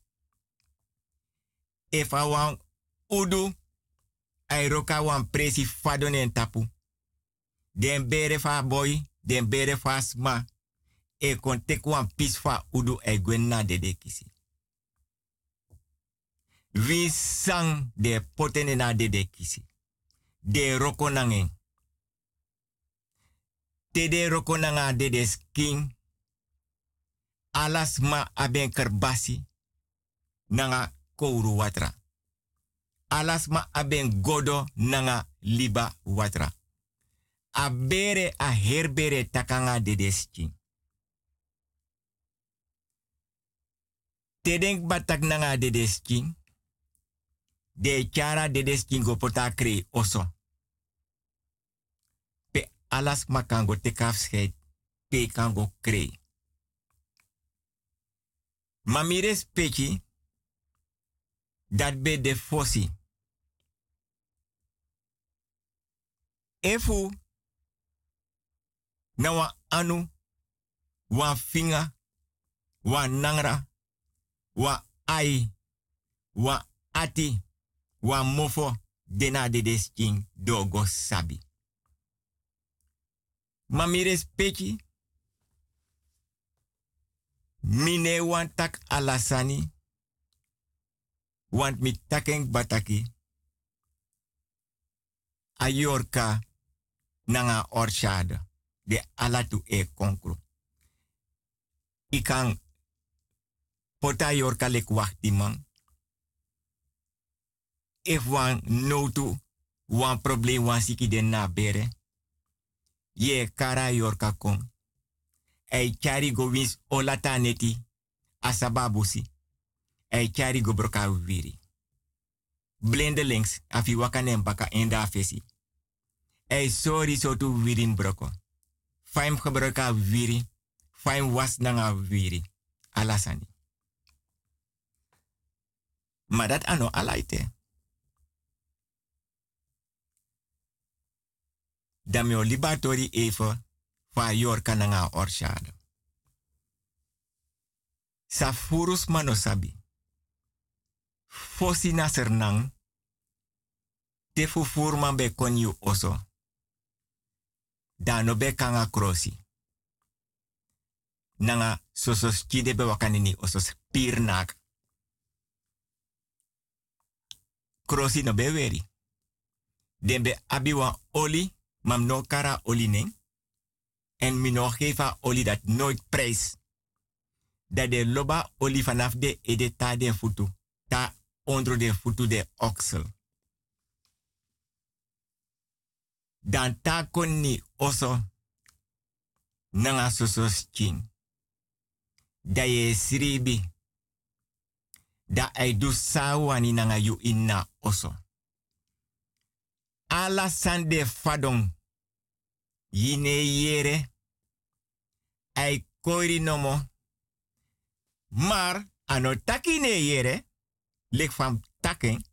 [SPEAKER 7] If a wan udu. Ay roka wan presi fadon en tapu. Den bere fa boy. Den bere fa sma. e kon tek wan pisfa udu e gwen na dede kisi. Vi sang de potene na dede kisi. De roko nangen. Te de roko nanga dede skin. Alas ma aben kerbasi. Nanga kouru watra. Alas ma aben godo nanga liba watra. Abere a herbere takanga dede skin. Te denk batak nanga dede skin. De chara dede skin go pota krei oso. Pe alas ma kango tekaf scheid. Pe kango krei. Mamire speki. Dat be de fossi. Efu. Na wa anu. Wa finga. Wa nangra. Wa ai. Wa ati. Wa mofo. Dena de desking dogo sabi. Mamire speki. Mine wan tak alasani. Want mi taking bataki. Ayorka nanga orchade. De alatu e konkru. Ikan pota yorka lek wachti man. If wan notu wan problem wan siki den na bere. Ye kara yorka kom. Ei chari go wins olata neti asababusi. Ei chari go broka wiri. Blindelings afi wakanem baka enda fesi. Ei sorry so tu wirin broko. Faim gebruika wiri. Faim was nanga wiri. Alasani. Maar dat ano alaite. Damio libatori even fa yorka nanga orshade. Safurus manosabi. Fosi nasernang. Te fufurman be konyu oso. Dano be kanga krosi. Nanga sosos kide be wakanini osos pirnak. Krosi no be weri. Dembe abiwa oli. Mam no kara oli neng. En mi no gefa oli dat nooit prijs. Dat de loba oli vanaf de ede ta den futu. Ta onder de futu de oksel. Dan ta konni oso. Nanga sosos king. Da ye sribi. Da ay du sawani nanga yu inna oso. Ala sande fadong. Yine yere. Ay koiri nomo. Maar ano taki ne yere. Lek fam taken.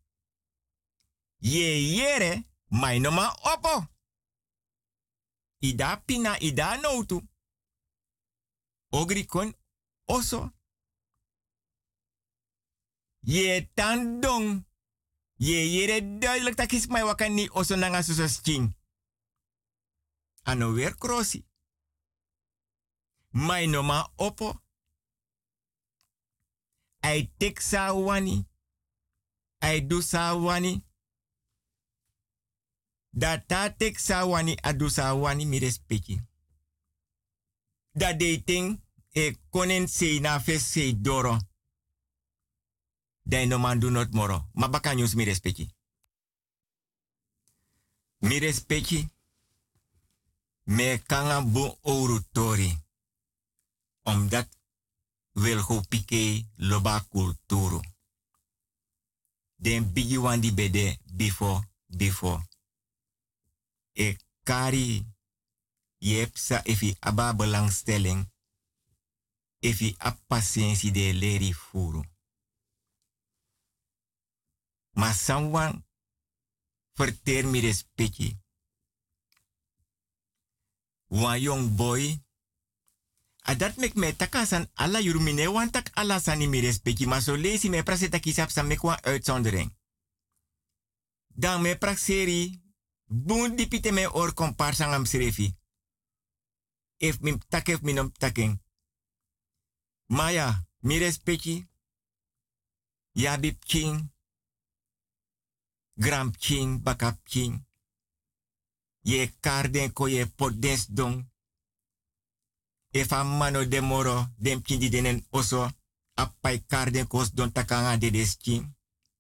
[SPEAKER 7] Ye yere. Mai noma opo. Ida pina ida noutu. Ogri kon oso. Ye tandong. Ye yere duidelijk dat is mij wakan ni oso nanga susos king. Ano weer krosi. Mai noma opo. Ai tek sa wani. Ai du sa wani. Dat ta tek sa wani adu sa wani mi respecti. Dat dating e konen se na fes se doro. Dai no man do not moro. Ma baka news mi respecti. Mi respecti. Me kanga bu ouro tori. Omdat wil go pike loba kulturu. Den bigi wandi bede before before. E kari yepsa efi aba belangstelling. Efi a patiëntie de leri furu. Maar someone verteer mi respecti. Wan young boy. A dat mek me takasan alla yurumine wan tak alla sani mi respecti. Maar so lezi me praseta kisap sa mek wan uitzondering. Dan me prakseri. Boon dipite me or komparsan am srefi. If mi takef minom taking. Maya, mi respecti. Ya bib king. Gram king, bakap king. Ye karden ko ye potdens don. Efa mano de moro, dem kindi denen oso. Appai karden kos don takanga de des king.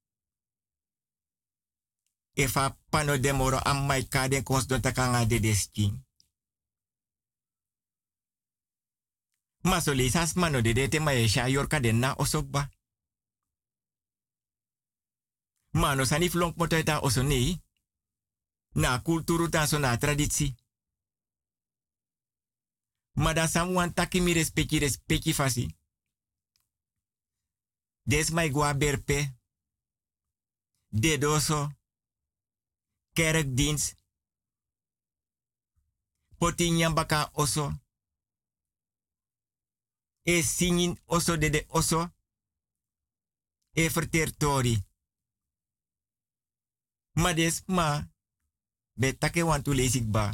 [SPEAKER 7] Efa pano de moro ammai karden kos don takanga de des king. Masoli sas mano de dete ma esha yorka den na osokba. Mano sani flonk motoita oso nei. Na kulturu ta so na traditie. Mada samwan taki mi respecti respecti fasi. Des mai gua berpe. Dedoso. Kerkdienst. Poti nyambaka oso. E singin oso de de oso. E vertertori. Ma des ma. Be take want to lezik ba.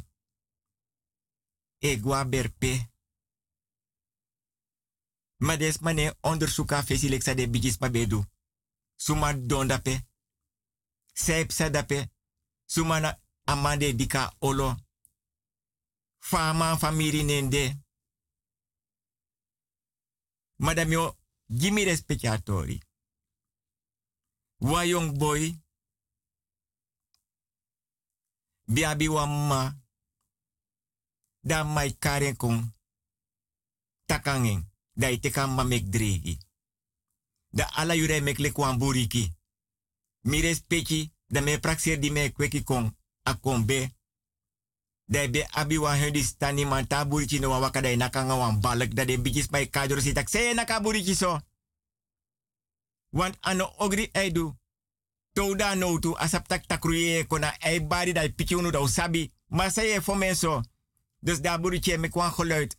[SPEAKER 7] E gua berpe. Ma des mane onderzoeka fesileksa de bigis ma bedu. Suma dondape. Seip sadape. Suma na amande dika olo. Fama famiri nende. Madame yo, gimme respectatori. Wa young boy. Biabi wa ma. Da mai karen kong. Takangen. Da iteka ma mek dregi. Da ala yure mek le kwan buriki. Mi respecti. Da me praxer di me kweki kong. Akombe. Da be abi wa hundi stani man ta buriki no waka da nakanga wan balak. Da de bigis mai kajoro sitak. Se naka buriki so. Want ano ogri eidu. Touda no tu asap tak takruye kona ei bari da piki unu da usabi. Maar zei je voor mensen. Dus daar buriki me kwan geluid.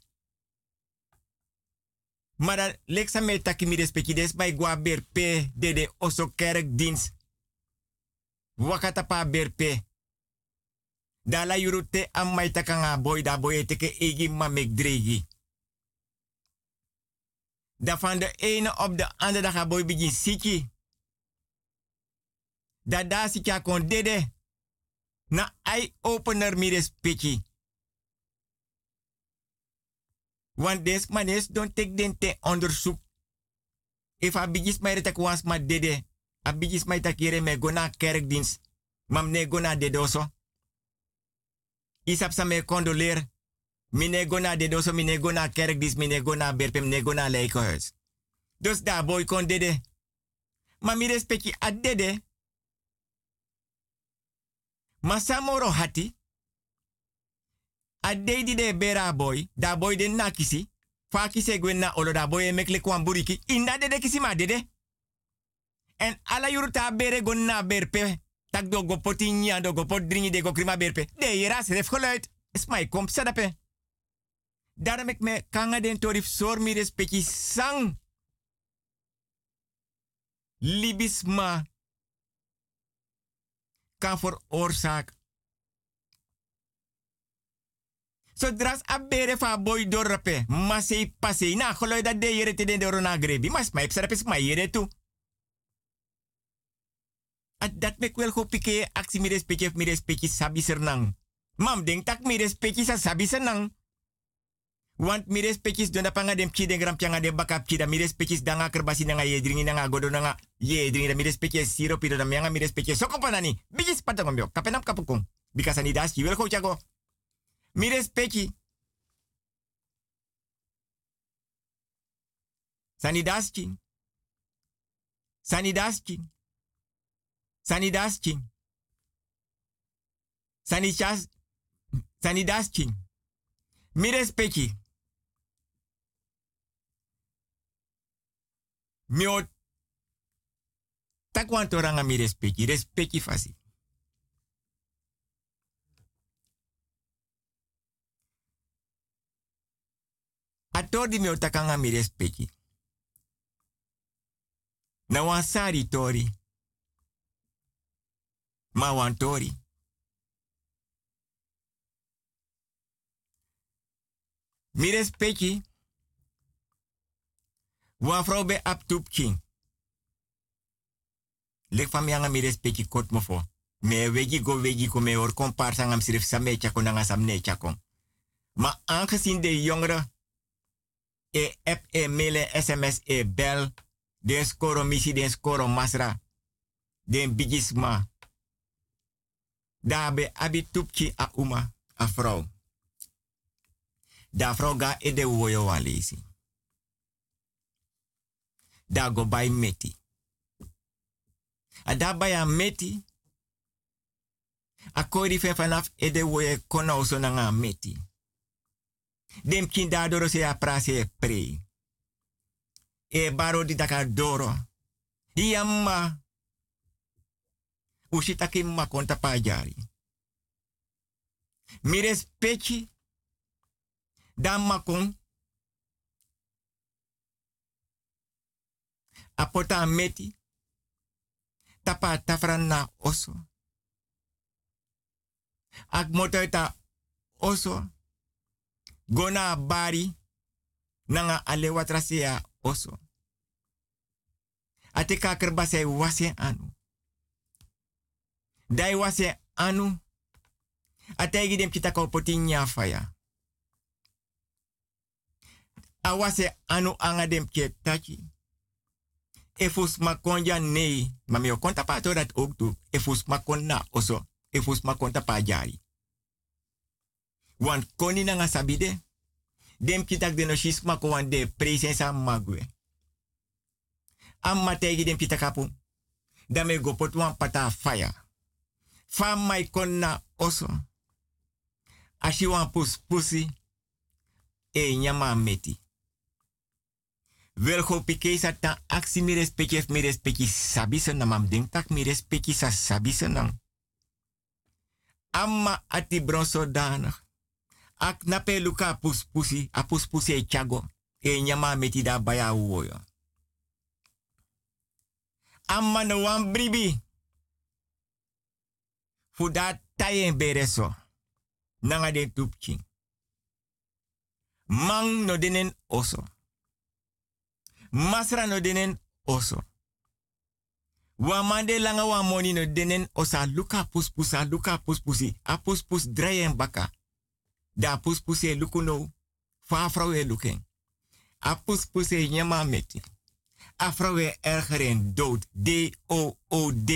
[SPEAKER 7] Maar dat leksa me taki mi respecti des bij gwa berpe de de oso kerkdienst. Wakata pa berpe. Da la yurute am mai takanga boy da boy teke egi ma mek dregi. Da van de ene op de andere dag ga boy begin siki. Da da siki kon dede. Na eye opener mi respecti. Want des manes don't take den te onderzoek. If a bigis mij retek was ma dede. A bigis mij takire me gona kerkdienst. Mam ne gona dedoso. Isap sa me condoleer. Mine gona dedoso, mine gona kerkdienst, mine gona berpem, mine gona leikohuis. Dus daar boy kon dede. Ma mi respecti a dede. Ma samoro hati. A dedi de bera boy, da boy de nakisi. Fa kise gwen na olo da boy e mekle kwan buriki. Inda dede kisi ma dede. En ala yuruta bere gon na berpe. Tak do go poti nya do go pot dringi de go krima berpe. De yera seref geluid. Is my kom sadape. Daarom ik me kanga den torif sor mi respecti sang. Libisma. Kan voor oorzaak. Zodra a bere fa boy dorpe, ma sei passei na geluid dat de jere te den de rona grebi, mas ma ipsa rapes ma jere tu. At dat mek wel go pike aksi mi respecti mi respecti sabi sernang. Mam denk tak mi respecti sa sabi sernang. Want mi respecti don da panga dem ki den gram pianga de bakap ki da mi respecti danga kerbasi nanga ye dringi nanga godo nanga ye dringi da mi respecti siro pido da mianga mi respecti soko panani. Bigis patangomyo kapenam kapukong. Bikasani das ki wel go chago. Mi respecti. Sanidaskin. Sanidaskin. Sanidaskin. Sanichas. Sanidaskin. Mi respecti. Mi o takwanto ranga mi respecti. Respecti fasi. Ator di mi otakanga mi respecti. Na wansari tori. Ma wan tori. Mi respecti. Wa vrouw be ap tup king. Lek fam yanga mi respecti kot mo fo. Me wegi go wegi ko me or komparsa ngam sirif same chako nanga samne chako. Maar aangezien de jongeren e app e mailen sms e bel den skoro missie den skoro masra den bigisma daarbij abi tupki a uma a vrouw. Da vrouw ga e de woyo walezi. Da go bij meti. A da bij a meti. A kori fen vanaf e de woyo kona oso nanga meti. Dem kin da doro se a prase pre. E baro di daka doro. Yamma. Ushitaki ma konta pajari. Mi respecti. Dan makon. Apota meti. Tapa tafran na oso. Ak motoita oso. Gona bari. Nanga ale watrasia oso. Ate kakerbase wase anu. Dai wase anu. Ate gidem kita ko potinya faya. Awase anu anga dem ke tachi. Efus makonja nei. Mami o konta pa to dat ook toe. Efus makonna oso. Efus makonta pa jari. Want koni nanga sabide. Dem kitak de no shisma ko wan de presensa magwe. Amma tegi dem kitakapu. Dame go pot wan pata fire. Fam mai konna oso. Ashi wan pus pusi. E nyama meti. Wel go pike sa ta aksi mi respecti mi respecti sabisa na mam ding tak mi respecti sa sabisa nang. Amma ati bronso danig. Ak nape luka pus pusi, a pus pusi e chago. E nyama meti da baya uwoyo. Amma no wan bribi. Fuda tayen bereso. Nanga den tupchi. Mang no denen oso. Masra no denen oso. Wamande langa wa moni no denen osa luka pus pusa luka pus pusi. A pus pus drayen baka. Da pus puse lukuno. Fa vrouwe luken. A pus puse nyama meti. A vrouwe ergeren dood. D O O D.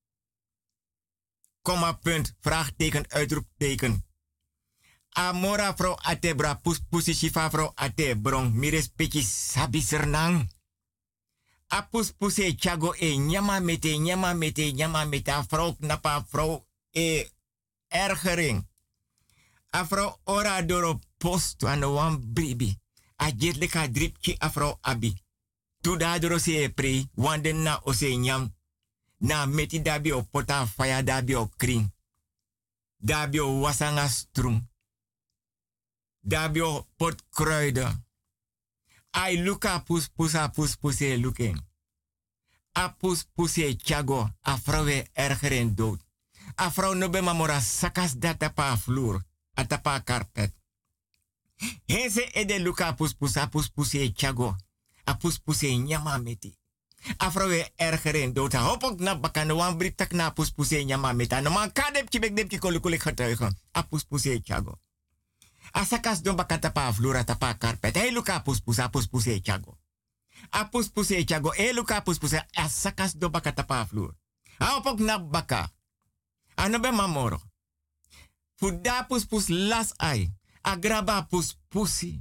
[SPEAKER 7] Komma punt. Vraagteken uitroepteken. Amora vrouw atebra pus pusi shifa vrouw atebrong. Mires peki sabisernang. A pus puse chago e nyama mete nyama mete nyama mete. A vrouw knapa vrouw e ergering. Afro ora doro posto an wan bribi. A jet leka dripki afro abi. Tu da doro se pre. Wanden na ose nyam. Na meti dabi o pota faya dabi o kring. Dabi o wasanga strum. Dabi o pot kruiden. Ai luka pus pusa pus puse luken. A pus puse chago. Afro we ergeren dood. Afro no be mamora sakas data pa vloer. Atapa carpet. Heze ede luka pus pusa pus puse chago. A pus puse nyama meti. Afrowe ergeren dota. Hopok na bakan wan britak na pus puse nyama meta. No man kadep kibek dep ki kolukulik getuigen. A pus puse chago. A sakas don bakata pa vloer atapa carpet. Hey luka pus pusa pus puse chago. A pus puse chago. Hey luka pus pusa. A sakas don bakata pa vloer. A hopok na baka. Ano be mamoro. Fuda pus pus las ai. Agraba pus pusi.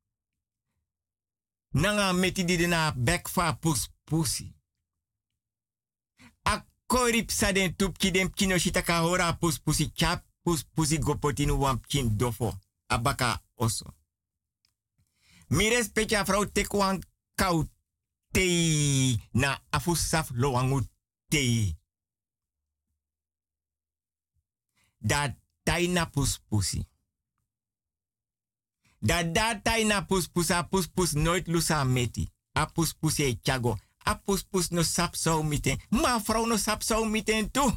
[SPEAKER 7] Nanga meti di na bekfa pus pusi. A korip sa den tupki dem kino shitaka hora pus pusi chap pus pusi gopotinu wam kin dofo. Abaka oso. Mires pecha vrouw tekwan kau tei na afusaf loangu tei. Dat taina pus pusi. Da da taina pus pusa pus pus nooit lusa meti. A pus pusi e chago. A pus pus no sap so miten. Ma vrouw no sap so miten tu.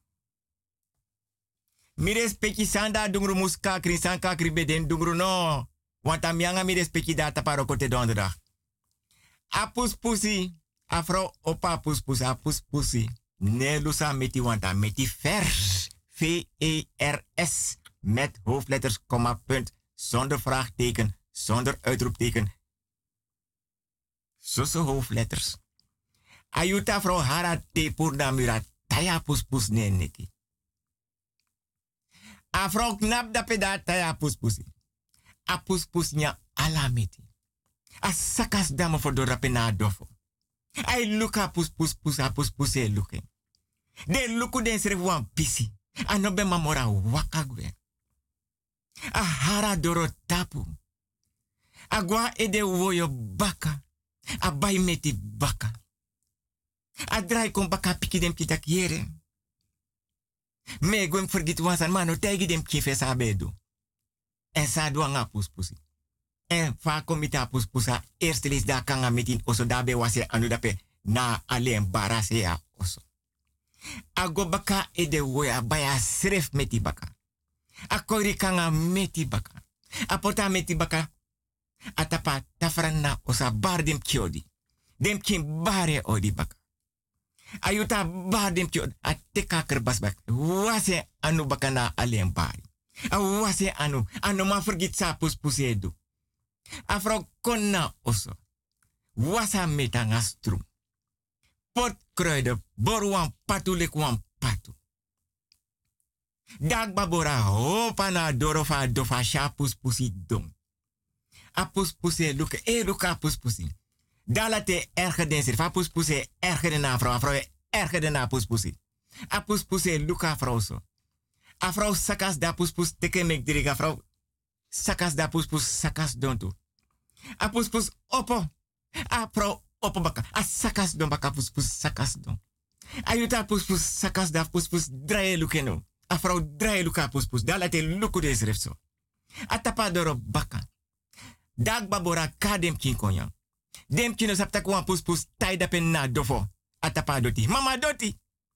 [SPEAKER 7] Mires peki sanda dungru muska kri sanka kri beden dungru no. Want am yanga mires peki data paro kote donderdag. Apus pusi. Afro opa pus pus apus pusi. Ne lusa meti wanta meti vers. V E R S. Met hoofdletters, komma, punt. Zonder vraagteken. Zonder uitroepteken. Zozo hoofdletters. Ayuta vrouw hara te purnamura. Taya pus pus ne neki. A vrouw knap da peda taya pus pusi. A pus pus nya alameti. A sakas dame voor de rapena dofo. Ay luka pus pus pus a pus pus e luke. De luku den sere wan pisi. A no be mamora wakagwe. A hara doro tapu. Agua e de woyo baka. A bay meti baka. A drai kon baka piki dem kita kiere. Me gwen forgit wansan mano tegi dem kife sa bedu. En sa duanga pus pusi. En fa komita pus pusa eerste lis da kanga metin oso dabe wase anu dape na alleen barase ya oso. Ago baka e de woya baya sref meti baka. Akori kanga meti baka. Apota meti baka. Atapa tafran na osa bar dem kiodi. Dem kim bare odi baka. Ayuta bar dem kiodi. Ateka kerbas bak. Wase anu baka na alleen bari. A wase anu. Anu ma forgit sa pus pusedu. Afro konna oso. Wasa meta ngastrum. Pot kruiden. Borwan patu lekwan patu. Dag babora hopa na dorofa dofa sha pus pusi dom. A pus pusi luke. E luka pus pusi. Dalate erger den sir. Fa pus pusi erger den afro. Afro erger den na pus pusi. A pus pusi luka afro so. Afro sakas da pus pus teke mek diriga afro. Sakas da pus pus sakas dontu. A pus pus opo. A pro opo baka. A sakas don baka pus pus sakas don. Ayuta pus pus sakas da pus pus drae lukeno. A vrouw draai luka pus pus. Da laat luku des refso. A tapa doro baka. Dag babora ka dem kin konyan. Dem kino sapta kwa pus pus tai da pen na dofo. A tapa doti. Mama doti.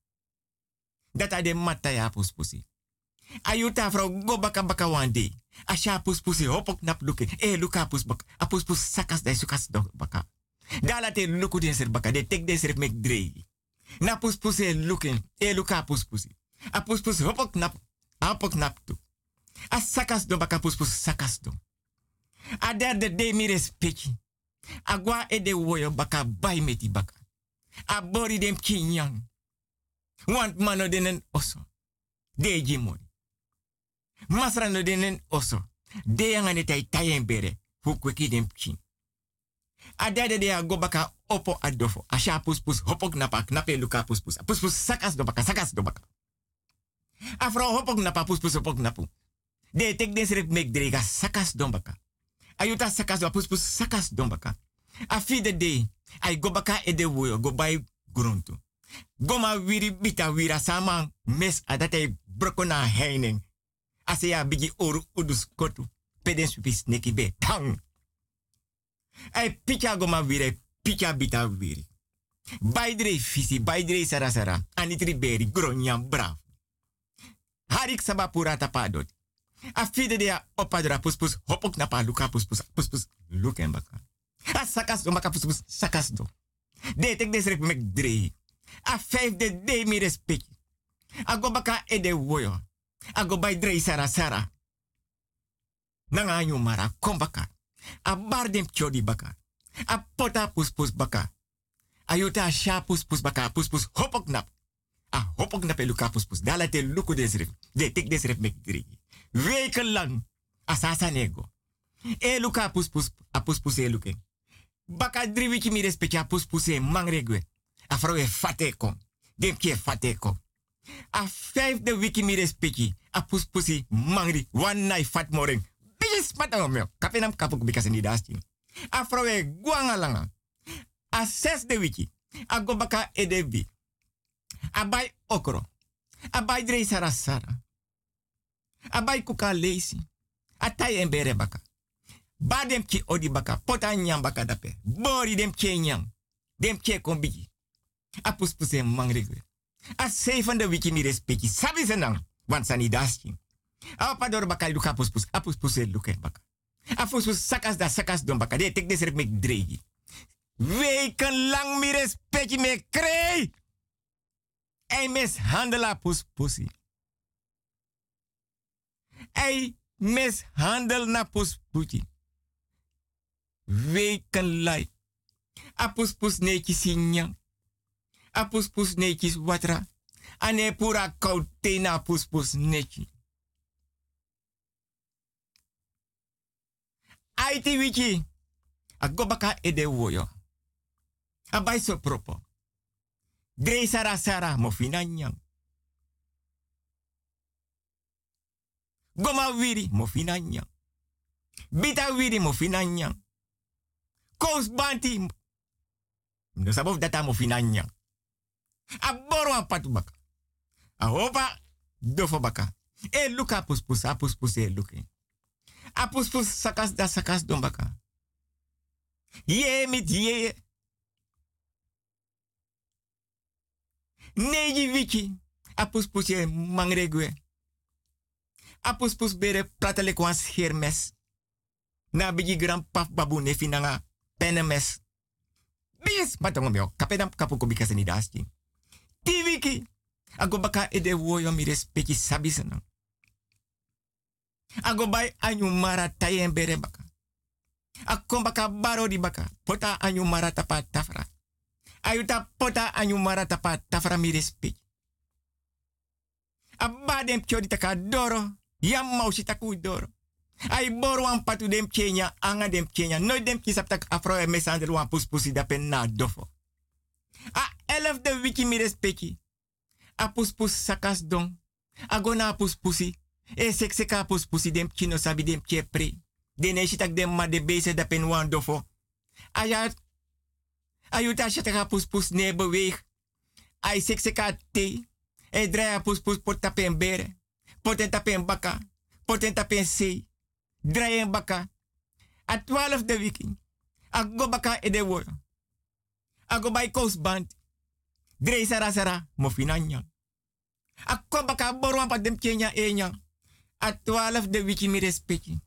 [SPEAKER 7] Data de mataya pus pusi. Ayuta vrouw go baka baka wande. A sha pus pusi hopok nap luke. E luka pus baka. A pus pus sakas da sukas do baka. Da laat luku des er baka. De tek des ref mek drei. Na pus pusi luken. E luka pus pusi. A pus pus hopok nap. A hopok nap tu. A sakas do baka pus pus sakas do. A derde de mi respecti. A gwa e de woyo baka bay meti baka. A bori dem kinyang. Want mano denen oso. De jimori. Masra no denen oso. De yang ane tai tayen bere. Fukweki dem kin. A derde de a go baka opo adofo. A sha pus pus hopok napa knape luka pus pus. A pus pus sakas do baka sakas do baka. A vrouw hopok napa pus pus hopok napu. De tek des rep mek drega sakas don baka. Ayuta sakas do pus pus sakas don baka. A fide de ay go baka e de woyo go bay gruntu. Goma wiri bita wira sama mes adate brokona heining. Ase ya bigi oru udus kotu. Peden supis neki be tang. Ay picha goma wire picha bita wiri. Baydre fisi baydre sarasara. Anitri beri gronyam brav. Harik sabapura tapadot. A fide de opadra puspus hopok napa luka puspus puspus luken baka. A sakas do baka puspus sakas do. De tek des rep mek drei. A vijf de de mi respect. A go baka e de woyo. A go bay drei sara sara. Nanga anyu mara kom baka. A bar dem chodi baka. A pota puspus baka. Ayuta sha puspus baka puspus hopok nap. A hopok na peluka puspus. Dala te luku desref. De tek desref mek drie. Weken lang. Asasa nego. E luka puspus. A puspus e luke. Baka drie wiki mi respecti a puspus e mangregwe. A vrouw e fate kom. Dem ki e fate kom. A vijfde wiki mi respecti. A puspusi mangri. One night fat morning. Bijis mata omeo. Kapenam kapuk bikase ni dasting. A vrouw e guanga langa. A zesde wiki. A go baka e debi. Abai okro. Abai drei sarasara. Abai kuka leisi. Atai embere baka. Badem ki odi baka. Pota nyam baka dape. Bori dem ke nyam. Dem ke kombiki. A puspuse mangrigwe. A zevende wiki mi respecti. Sabi senang. Want sani dasking. A opador baka luka puspus. A puspuse luke baka. A puspus sakas da sakas don baka. De tek desrek mek dregi. Weken lang mi respecti me krei. Ei mishandela pus pusi. Ei mishandel na pus puti. Weken lai. A pus pus netjes sinyang. A pus pus netjes watra. Ane pura kaute na pus pus netjes. Aiti wiki. A gobaka ede woyo. A bai so propo. Drei sara sara mo finanyang. Goma wiri mo finanyang. Bita wiri mo finanyang. Kous banti. No sabov data mo finanyang. A boro a patu baka. A hopa dofo baka. E luka puspus, a puspus e luke. A puspus sakas da sakas don baka. Ye mit ye. Neji wiki. A puspus e mangregue. A puspus bere pratele kwans hermes. Na bigi gran paf babu ne finanga penemes. Bis matongo meo. Kapedam kapuko bika seni daski. Ti wiki. Ago baka ede woyo mi respecti sabisana. Ago bai anyu mara tayen bere baka. Akon baka baro di baka. Pota anyu mara tapa tafra. Ayuta pota anyu mara tapa tafra mi respecti. Abadem chodi taka doro. Yam mausi taku doro. Ay boro wan patu dem chenya. Anga dem chenya. No dem kisap tak afro e mesander wan puspusi dapen na dofo. A elf de wiki mi respecti. A puspus sakas don. A gona puspusi. E sekseka puspusi dem kino sabi dem chepre. Dene shitak dem ma de base da pen wan dofo. Ayat. Ayuta shataka puspus ne beweeg. Ay sekseka te. E draai puspus pot tapen bere. Poten tapen baka. Poten tapen se. Draai baka. A twaalf de wiki. A go baka e de woyo. A go by coast band. Drei sara sara mo finanyang. A ko baka boruan pa dem kenya enyang. A twaalf de wiki mi respecti.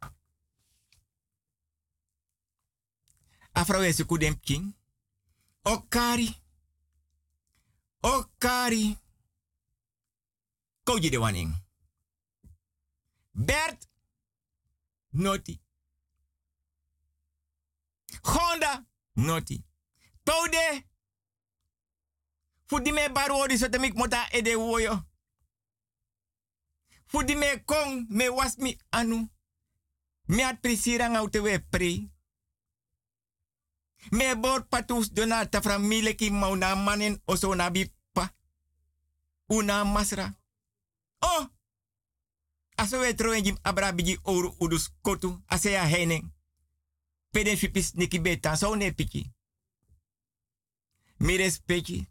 [SPEAKER 7] A vrouwen se kudem king. Okari. Okari. Koji de waning. Bert. Noti. Honda. Noti. Poude. Fudi me baro di sote mik mota ede woyo. Fudi me kong me was mi anu. Me at prisira ngaute we pre. Me bor patus donata fra mileki mauna manen oso nabi pa. Una masra. Oh! Aso we troen jim abra bigi oru udus kotu asea heneng. Peden fipis niki beta so ne piki. Mi respecti.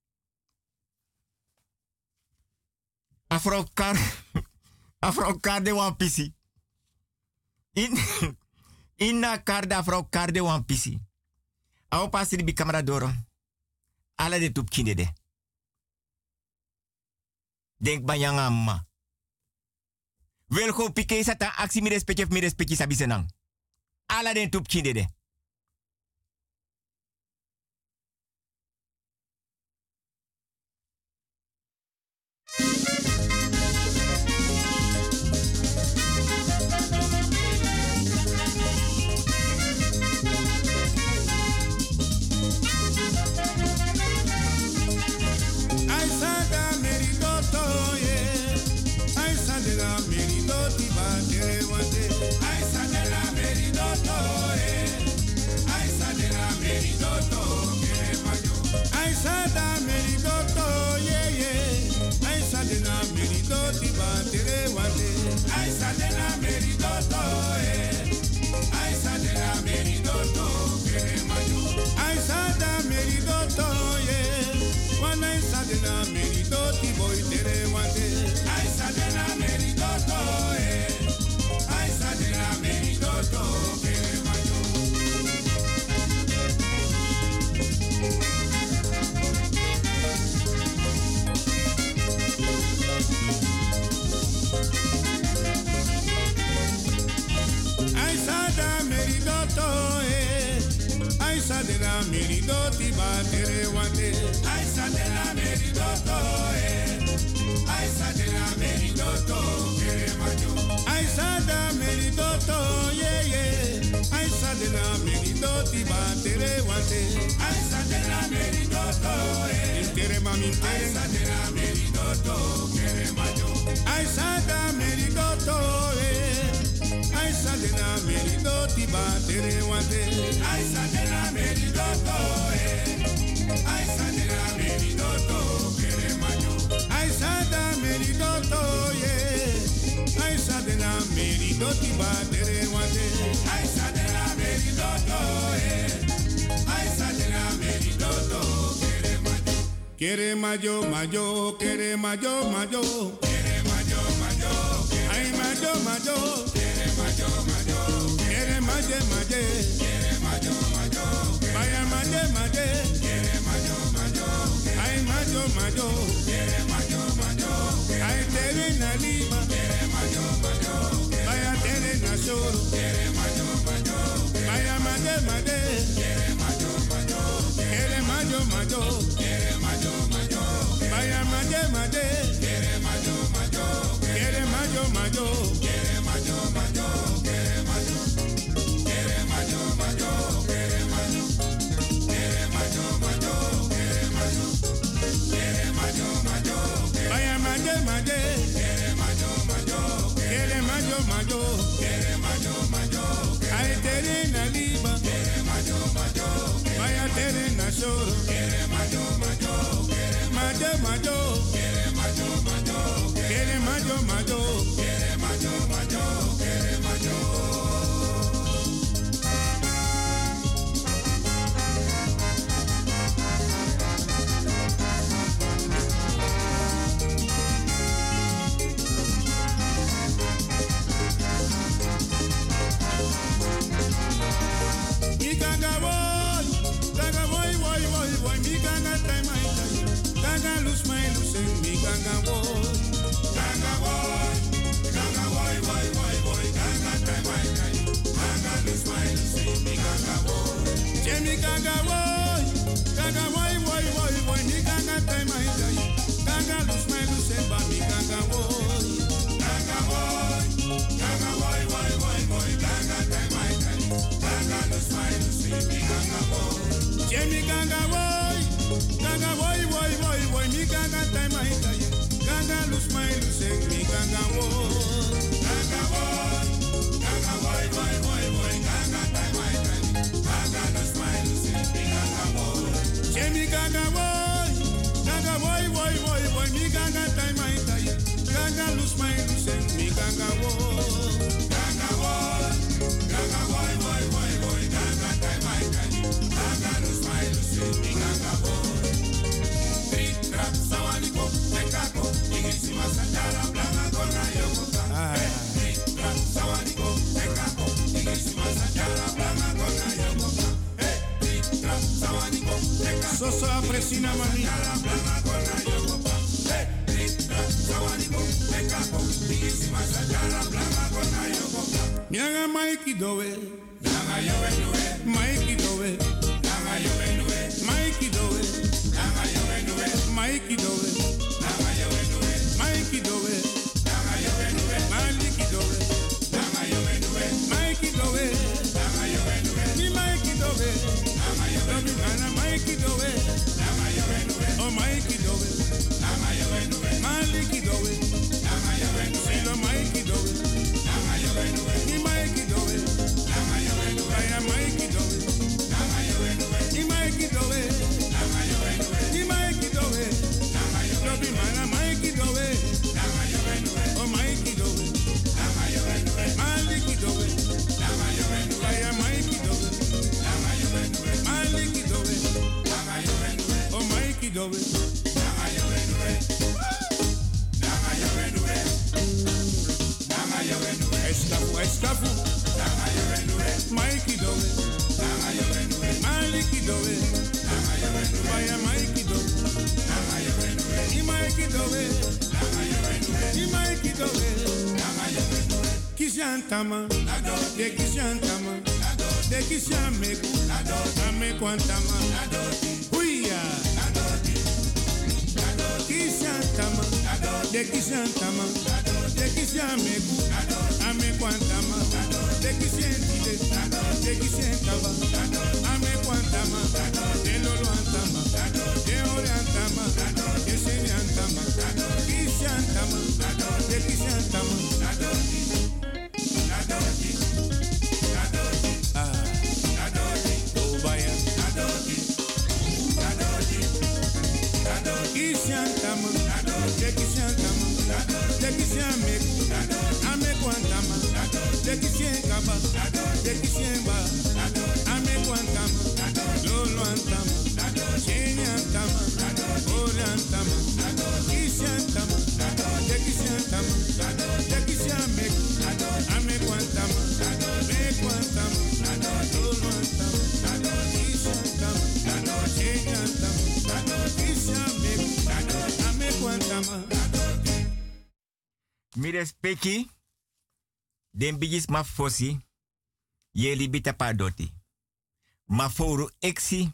[SPEAKER 7] Afro kar. Afro kar de wan pisi. In. Inna kar de afro kar de wan pisi. Aho pasri bi camera doro. Ala de tup kinde de. Denk banyang amma. Welko pike sata aksi mi respecti mi respecti sabi senang. Ala de tup kinde de.
[SPEAKER 12] Aisa de la la meridoti batere wante. Aisa de la meridoto eh. Aisa de la meridoto kere majo. Aisa da meridoto yeah yeah. Aisa de la meridoti batere wante. Aisa de la meridoto eh. Intere mami Aisa de la meridoto kere majo. Aisa da meridoto eh. Aisa de la meridoti batere wante. Aisa de la meridoto eh. Aisa de la meridoto kere majo. Aisa da meridoto yeah. Aisa de la meridoti batere wante. Aisa de la meridoto eh. Aisa de la meridoto kere majo. Kere majo majo kere majo majo. Kere majo majo. Ay majo majo. Majo, majo, quiere maje, maje, quiere majo, majo, vaya maje, maje, quiere majo, majo, ay majo, majo, quiere majo, majo, ay tere na lima, quiere majo, majo, vaya tere na shoro, quiere majo, majo, vaya maje, maje, quiere majo, majo, quiere majo, majo, quiere majo, majo, vaya maje, maje, quiere majo, majo, quiere majo, majo, quiere majo, majo. Shoro, quiere mayo, mayo, quiere mayo, mayo, quiere mayo, mayo, quiere mayo, mayo, quiere mayo, mayo, quiere mayo. Mi cangabo. Ganga lose my lose me ganga boy. Ganga boy. Ganga boy boy boy boy. Ganga time my time. Ganga lose my lose me ganga boy. Jemmy ganga boy. Ganga boy boy boy boy. Me ganga time my time. Ganga lose my lose but me ganga boy. Ganga boy. Ganga boy boy boy boy. Ganga time my time. Ganga lose my lose me ganga boy. Jemmy ganga boy. Ganga boy boy boy boy mi ganga time I die. Ganga lose my lose mi ganga boy. Ganga boy. Ganga boy boy boy boy. Ganga time I die. Ganga lose my lose mi ganga boy. Jemmy ganga boy. Ganga boy boy boy boy mi ganga time I die. Ganga lose my lose mi ganga boy. Ganga boy. Ganga boy boy boy boy. Ganga time I die. Ganga lose my lose mi ganga boy. Sawaniko, Nekako, Igisi Masandara, Blanga, Gona, Yokoka. Sawaniko, Nekako, Igisi Masandara, Blanga, Gona, Yokoka. Sawaniko, Nekako, Soso Apresina Mami, Blanga, Gona, Yokoka. Sawaniko, Nekako, Igisi Masandara, Blanga, Gona, Yokoka. Nyanga Mikey Doe, Nyanga Yowe Noe, Mikey Doe, Nyanga Yowe Noe, Mikey Doe, Nyanga Yowe Noe. Mikey do it, Nama yo enu it. Mikey do it, Nama yo enu it. Maliki do it, Nama yo enu it. Mikey do it, Nama yo enu it. Ni Mikey do it, Nama yo enu it. Ana Mikey do it, Nama yo enu it. Oh Mikey do it, Nama yo enu it. Maliki do it, Nama yo enu it. Silo Mikey do it, Nama yo enu it. Ni Mikey do it, Nama yo enu it. Aya Mikey do it, Nama yo enu it. Ni Mikey do it, Nama yo enu it. Ni Mikey do it. Lobi mana Mikey do it. Oh Mikey do it. Maliki do it. Aya Mikey do it. Maliki do it. Oh Mikey do it. Escafu, escafu. Mikey do it. Maliki do it. Aya Mikey do it. Mikey do it. Mikey do it. Kishantama. De kishantama. De kishameku. Ameku quantama. Huia. Kishantama. De kishantama. De kishameku. Ame quantama. De kishentide. De kishentaba. Ame quantama. De lolo antama. De ore antama. De sheni antama. Kishantama. De kishantama. Kishantama, Dekishantama, Dekishameku, Amekwantama, Dekishenkaba, Dekishemba, Amekwantama, Loloantama, Shenyantama, Oriantama, Kishantama, Dekishantama, Dekishameku, Amekwantama, Mekwantama, Loloantama, Kishantama, Shenyantama,
[SPEAKER 7] Mi respecti den bigis ma fosi ye libita pa doti. Ma foru exi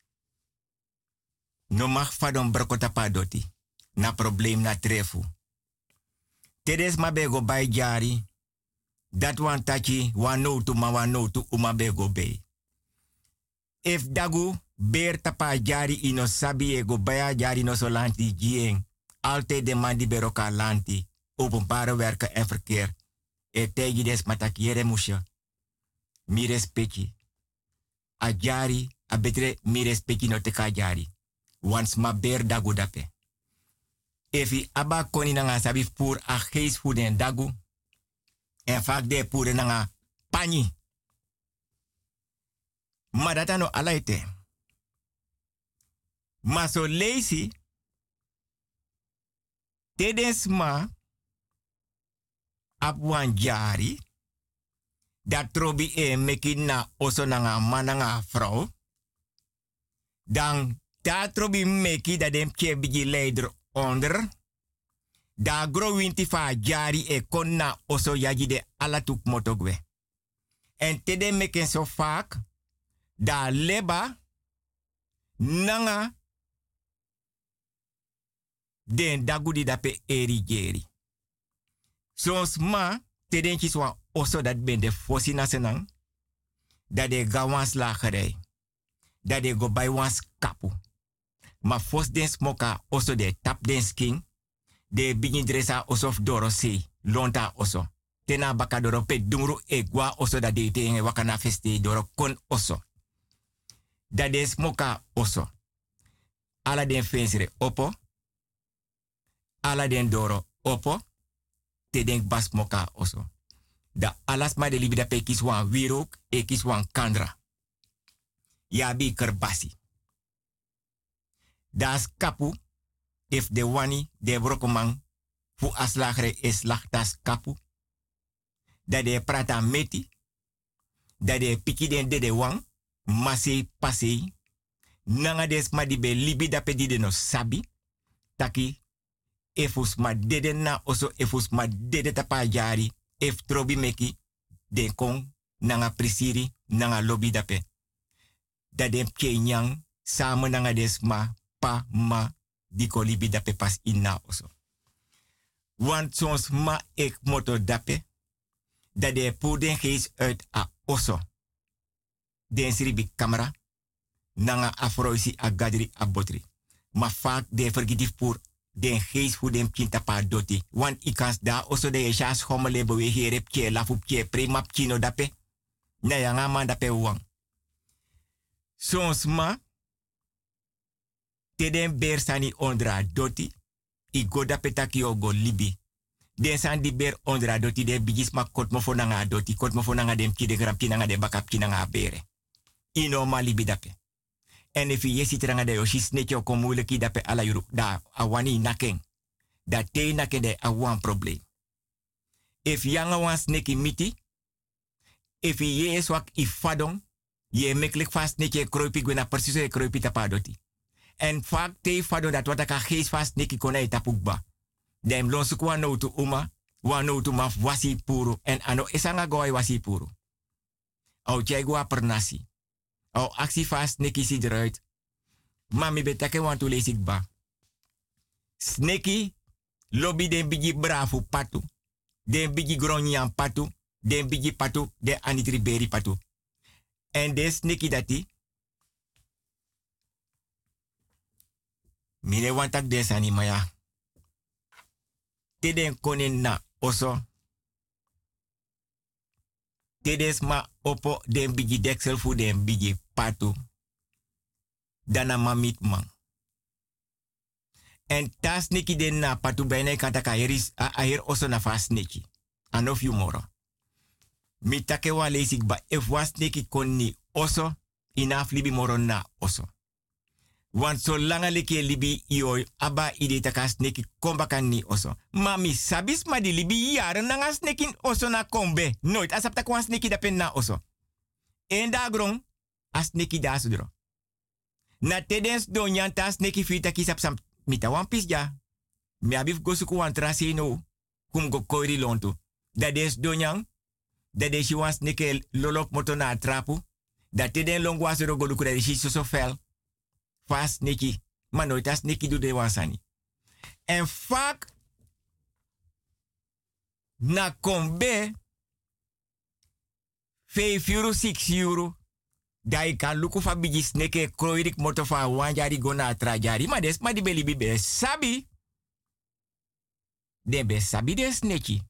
[SPEAKER 7] no mag fadon brokota pa doti. Na problem na trefu. Tedes ma bego bay jari. Dat wan tachi wan no tu ma wan no tu uma bego bay. If dagu ber tapa jari ino sabi ego baya jari no so lanti gieng. Altijd de man die beroka lanti. Openbare werken en verkeer. E tegi des matakiere musha. Mi respecti. A jari, a betre mi respecti no teka jari. Wans ma ber dagu dape. Efi aba koni nanga sabi pur a geis fuden dagu. En vaak de pure nanga pani. Ma data no alaite. Ma so lazy. Tedens ma ap wan jari dat trobi e meki na oso nanga mananga vrouw. Dan da trobi meki dat dem ke bigi leider onder. Da gro winti fa jari e kon na oso yaji de alatuk motogwe. En tede meken so vaak da leba nanga den dagudi dape eri geri. Sons ma, te denki swa oso dat ben de fosi na senang, dat de gawans lagerij, dat de go bij wans kapu. Ma fos den smoka oso de tap den skin, de bigin dresa oso doro se, lonta oso. Tena baka doro pe dungru egwa oso dat de te wakana feste doro kon oso. Dat de smoka oso. Ala den fensere opo, ala den doro opo, te denk bas moka oso. Da alas ma de libida pe kiswan wirok e kiswan kandra. Ya bi kerbasi. Das kapu, if de wani de brokomang fu aslagre is lag das kapu. Da de prata meti, da de piki den de de wang, masi pasi, nanga des ma di be libida pe di de no sabi, taki, efus ma dede na oso efus ma dede tapa jari ef trobi meki den kong nanga prisiri nanga lobby dape. Da den kenyang samen nanga des ma pa ma diko libi dape pas inna oso. Want sons ma ek moto dape da de pu den gees uit a oso. Den sribi camera nanga afroisi a gadri a botri. Ma vaak de vergidif pur den geest voor den kinta pa doti. Want ikans da oso de esha schommele bewe herep kie lafup kie primap kino dape. Na yanga man dape wang. Sons ma te den ber sani ondra doti. I go dape taki o go libi. Den san di ber ondra doti de bigis ma kot mo fonanga doti. Kot mo fonanga dem ki de gram kinanga de bakap kinanga bere. Ino ma libi dape. En if je ziet er aan de yoshi snetje ook moeilijk dape ala yuru da awani naken. Da te naken de awan probleem. If yanga wan sneki miti. If je is wak ifadong. Je meklik vast snetje kroipi gwena precies e kroipi tapadoti. En vaak te fadong dat wat aka gees vast sneki kona tapukba. Dem lonsuk wan no tu uma. Wan no tu maf wasi puru. En ano esanga goy wasi puru. Au jai gua pernasi. O actie vast sneki si eruit. Mami betake want to lees ik ba. Sneki lobby den bigi bravo patu. Den bigi gronyan patu. Den bigi patu. Den anitriberi patu. En de sneki dati. Mire wantak den sani maya. Te den konen na oso. Te des ma opo den bigi deksel fu den bigi patu. Dana mamit man. En tas neki den na patu bijna kanta ka heris a aher oso na fast neki. Anof you moro. Mi take wa leesik ba if was neki konni oso inaf libi moro na oso. Want so langa leke libi io aba ide takas neki komba kan ni oso. Mami sabis ma di libi jaren nanga snekin oso na kombe. Nooit asap tak wan sneki dapen na oso. En da grong as neki da sudro. Na tedens do nyantas neki fita kisap sam mita wan pis ja. Mi abif gosuku wan trase no. Kum go koiri lontu. Da des do nyang. Da des shi wan sneke lolok moto na trapu. Da teden long was ro golu kure shi so fel. Fast neki. Maar nooit as neki do de wansani. En vaak na kombe vijf euro, zes euro. Da ik kan luku fa bigi sneke kroirik moto fa wanjari gona trajari. Maar des ma di beli bibe sabi. De be sabi des neki.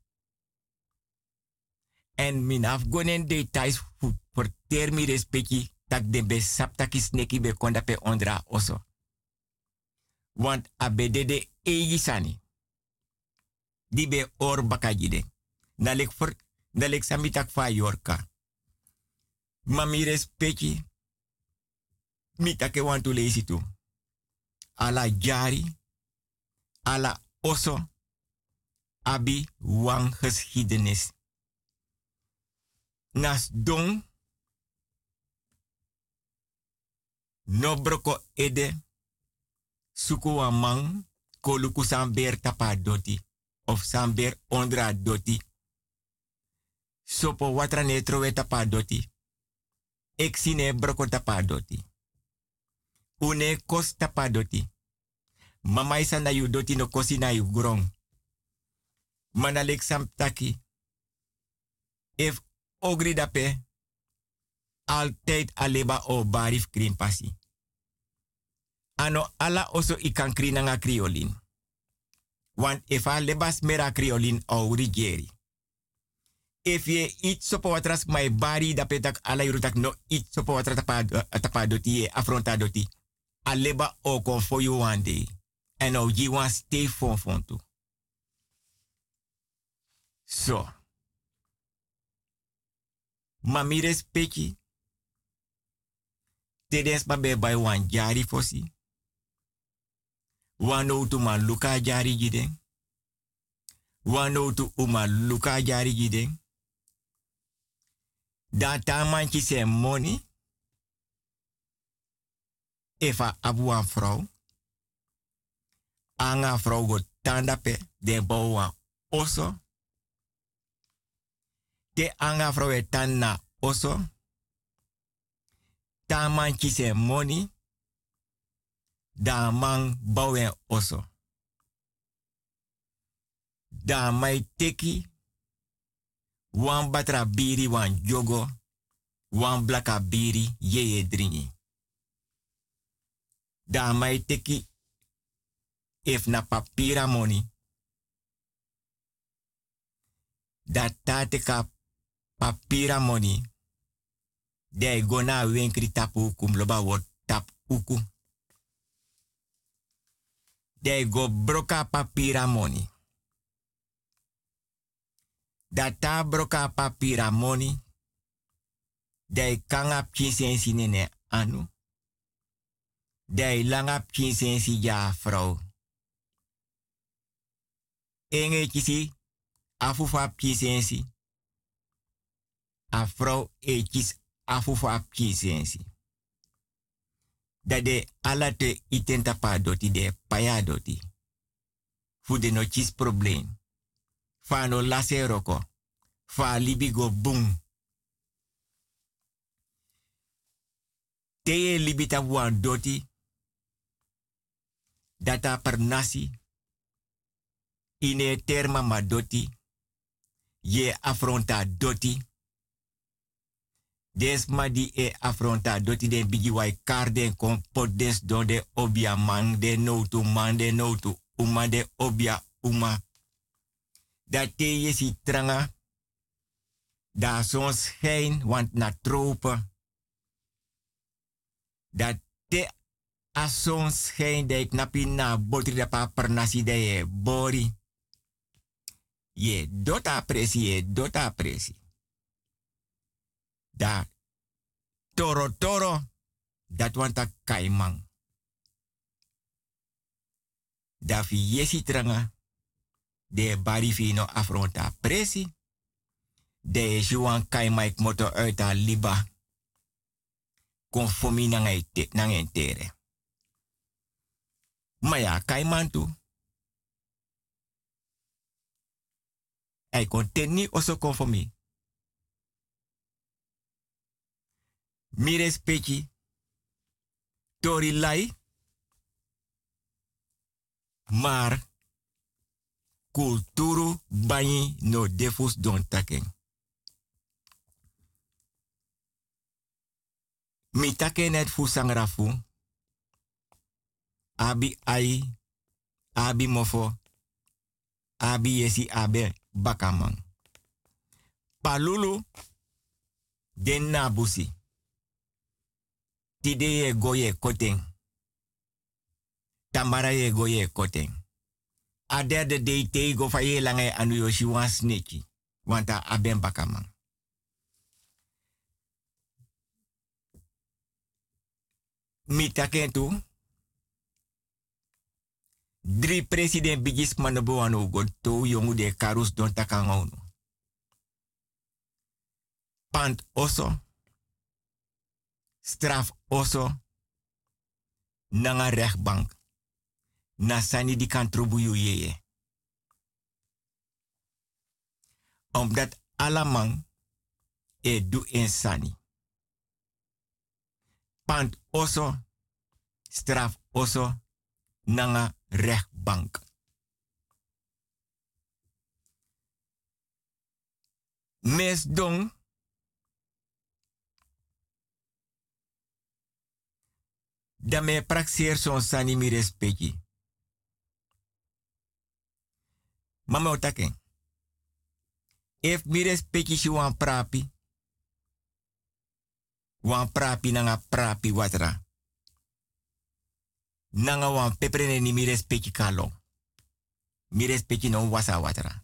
[SPEAKER 7] En min af gonen details voor termi respecti. Tak de be saptaki sneki be konda pe ondra oso. Want abede de eji sani. Di be or bakajide. Nalek for, nalek samitak fa yorka. Mami respecti. Mitake want to leesi tu. Ala jari. Ala oso. Abi wang geschiedenis. Nas don. No broko ede. Suku wa man. Koluku samber tapa doti. Of samber ondra doti. Sopo watra netro we tapa doti. Exine broko tapa doti. Une kos tapa doti. Mama isa na yu doti no kosi na yu grong. Manalek sam taki. If ogri dape. Altijd aleba o barif krin pasi. Ano ala oso ikan kri nanga kriolin. Want if a lebas mera kriolin o rigeri. If ye eat sopo watras my bari da petak ala yurutak no eat sopo watra tapa doti ye afronta doti. Aleba o kon for you one day. And o ji wan stay fon fon tu. So. Mami respecti. Tedens ma be by wan jari fosi. Wano tu ma luka jari giden. Wano tu uma luka jari giden. Data manchi se money. Efa abu wan vrouw. Anga vrouw go tanda pe de bouw wan oso. Te anga vrouw e tanda oso. Ta manchi se money. Da man bouwen oso. Da mai teki. Wan batra biri wan jogo. Wan blaka biri yeye dringi. Da mai teki. If na papira money. Da tateka papira money. De gona wenkri tapu kum loba wot tap uku. De go broka papira money. Data broka papira money. De kangap chinsensi nene anu. De langap chinsensi ja vrouw. Enge kisi afufap chinsensi. A vrouw e kis afufap chinsensi. Dat de alate itenta pa doti de paya doti. Fu de no chis probleem. Fa no lase roko. Fa libi go boom. Teye libita wan doti. Data per nasi. Ine terma ma doti. Ye affronta doti. Desma di e affronta doti den bigi wai karden kon podes don de obia man de no to man de no to uma de obia uma. Dat te je si tranga. Da son schijn want na tropen. Dat te a son schijn de knapi na botri da pa per nasi de ye bori. Ye dota presi ye dota presi. Da toro toro dat wanta kaimang. Da fi yesi tranga de bari fino affronta presi. De juan kaimaik moto uit a liba. Conformi nang entere. Maya kaimantu. Hij kon teni oso conformi. Mi respecti. Tori lai. Maar. Kulturu banyi no defus don taken. Mi taken net fu sangrafu. Abi ai. Abi mofo. Abi yesi abe bakamang. Palulu. Den nabusi. Tide ye goye koteng. Tamara ye goye koteng. A derde day te go fa ye lange anu yoshi wan sneki. Wanta aben bakamang. Mi takentu. Drie president bigis manobo anu go to yongu de karus don takangonu. Pant oso. Straf oso. Nanga rechtbank. Nasani di kan trobuyu yeye. Omdat alamang e du insani. Pant oso, straf oso, nanga rechtbank. Mes dong, da me praxeer son sani mi respecti. Mama otake. If mi respecti si wan prapi. Wan prapi nanga prapi watra. Nanga wan peprene ni mi respecti kalo. Mi respecti no wasa watra.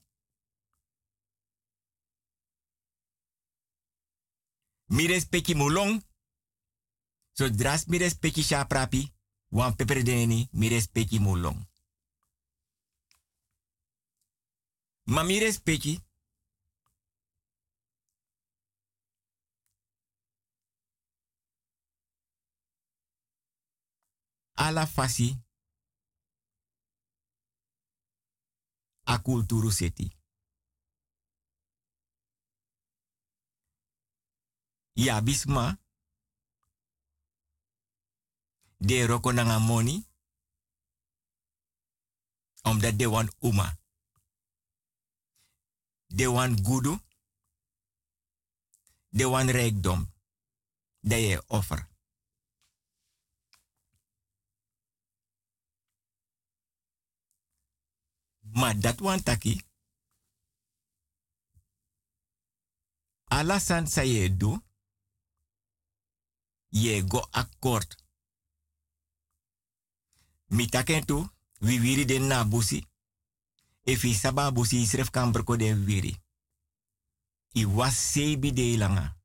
[SPEAKER 7] Mi respecti mulong. So dras mi respecti sha prapi. Wan peprene ni mi respecti mulong. Ma mi respecti. Ala fasi. A kulturu seti. Ya bisma. De roko nanga moni. Omdat de wan uma. De wan gudu. De wan rijkdom. De je offer. Maar dat wan taki. Alasan sa ye do. Ye go akkoord. Mi taken tu. We wiri den na busi. Efi saba busi isref kan berko den wiri. I was sebi de langa.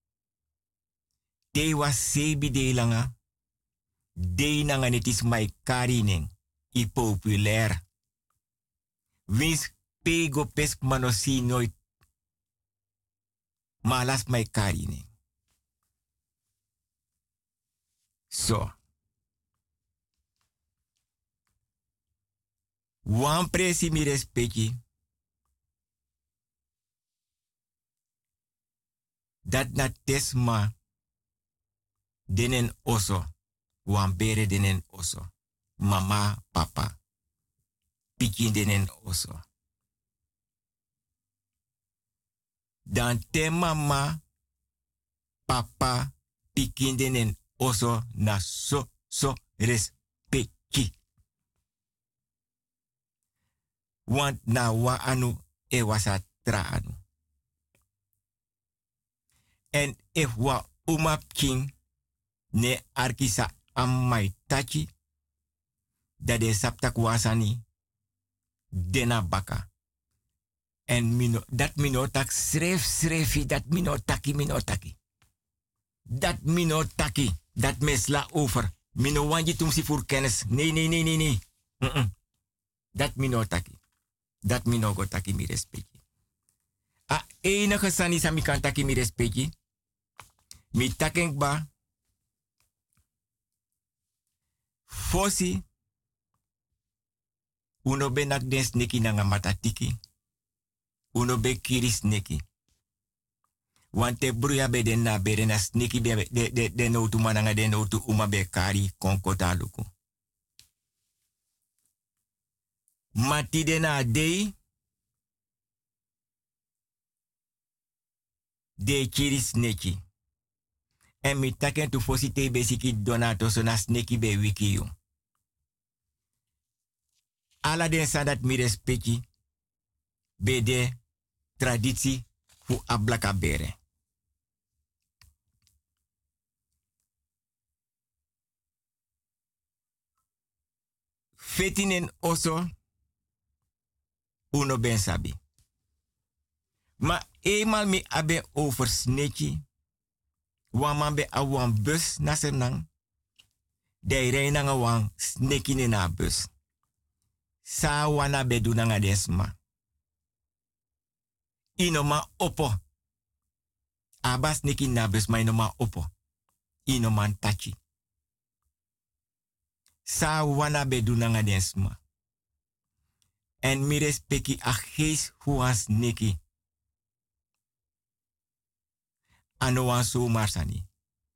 [SPEAKER 7] Te was sebi de langa. De nanga netis mai karining. I populair. Wins pego pesk manosi nooit. Malas mai karining. So. Wan presi mi respecti. Dat na tesma. denen oso. Wan bere denen oso. Mama, papa. Pikin denen oso. Dan te mama, papa, pikin denen oso na so, so respecti. Want na wa anu e wasa tra anu. En if wa umap king ne arkisa amai tachi, dat de saptak wasani dena baka. En mino, dat minotak schreef schreefi, dat minotaki minotaki. Dat minotaki, dat mesla over. Mino wanji tumsi voor kennis. Nee, nee, nee, nee, nee. Mm -mm. Dat minotaki. Dat minogotaki mi respecti. A enige sani sa mi kan taki mi respecti. Mi takenk ba. Fosi. Uno benak den sneki nanga matatiki. Uno be kiris neki. Wante bruya be den na bere na sneki be de de de no tu mananga de no tu uma be kari konkota luku. Mati de na dei. De kiris neki. En mi taken tu fosi te besiki donato so na sneki be wiki yo. Ala den sa dat mi respecti. Be de traditie fu ablaka bere. Fetinen oso uno ben sabi. Ma eenmaal mi abe over sneki. Waman be awan bus na senang. De reinanga wan sneki ne na bus. Sa wana be dunanga desma. Inoma opo. Abas neki nabes ma inoma opo. Inoman tachi. Sa wana bedunanga densma. En mi respecti a gees huas neki. Ano wan so marsani.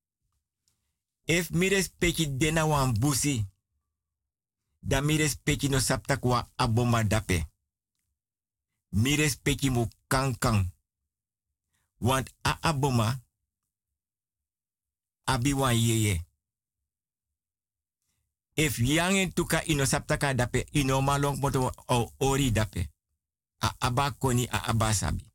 [SPEAKER 7] If mi respecti dena wan busi. Da mi respecti no sapta kwa aboma dape. Mi respecti mo kankang. Want a aboma abi wan yeye. If yangen tuka ino saptaka dape ino malong moto o ori dape. A abakoni a abasabi.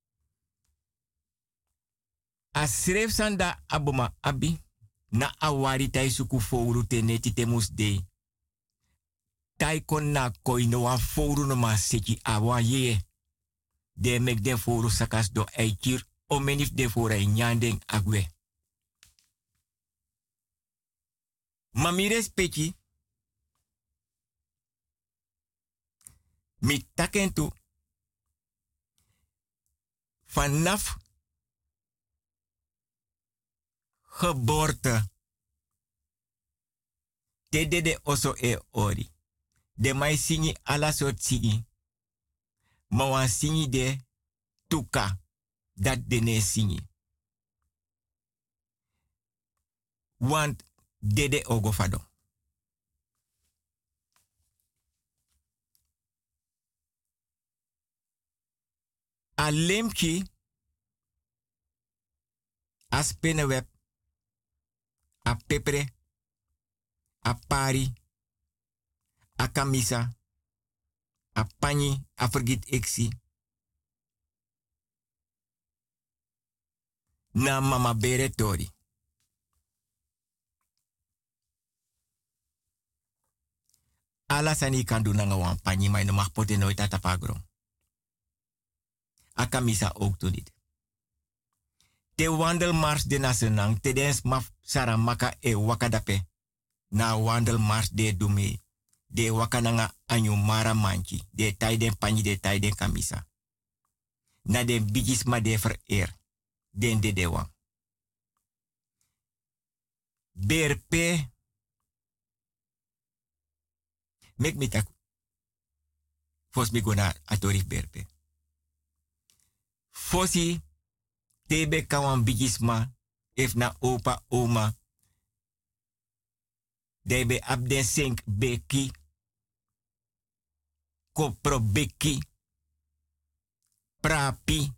[SPEAKER 7] A sref sanda aboma abi na awari tai suku fouru teneti temus de. Tai kon na koino wan fouru no ma seki awa yeye. De mek den foru sakas do eikir o menif den foru e nyandeng agwe. Ma mi respecti. Mi takentu. Vanaf geboorte. Te de de oso e ori. De mai singi ala soort singi. Ma wan singi de tuka dat de ne singi. Want dede ogofado. A lemki a spinnenweb a pepre a pari a kamisa a pani a vergit eksi na mama bere tori. Ala sani kan doen nga wan pani maar no mag pote nooit tatapagro. A kamisa ook toen niet. Te wandelmars de nasenang te dens maf saramaka e wakadape. Na wandelmars de dume. De wakananga anyu mara manchi. De taiden pani de taiden kamisa. Na den bigisma de vereer. Den de dewa. Berpe. Mek me tak. Fos mi gona atorif berpe. Fosi. Tebe kawan bigisma. If na opa oma. de be abden sink beki. Kopro beki. Prapi.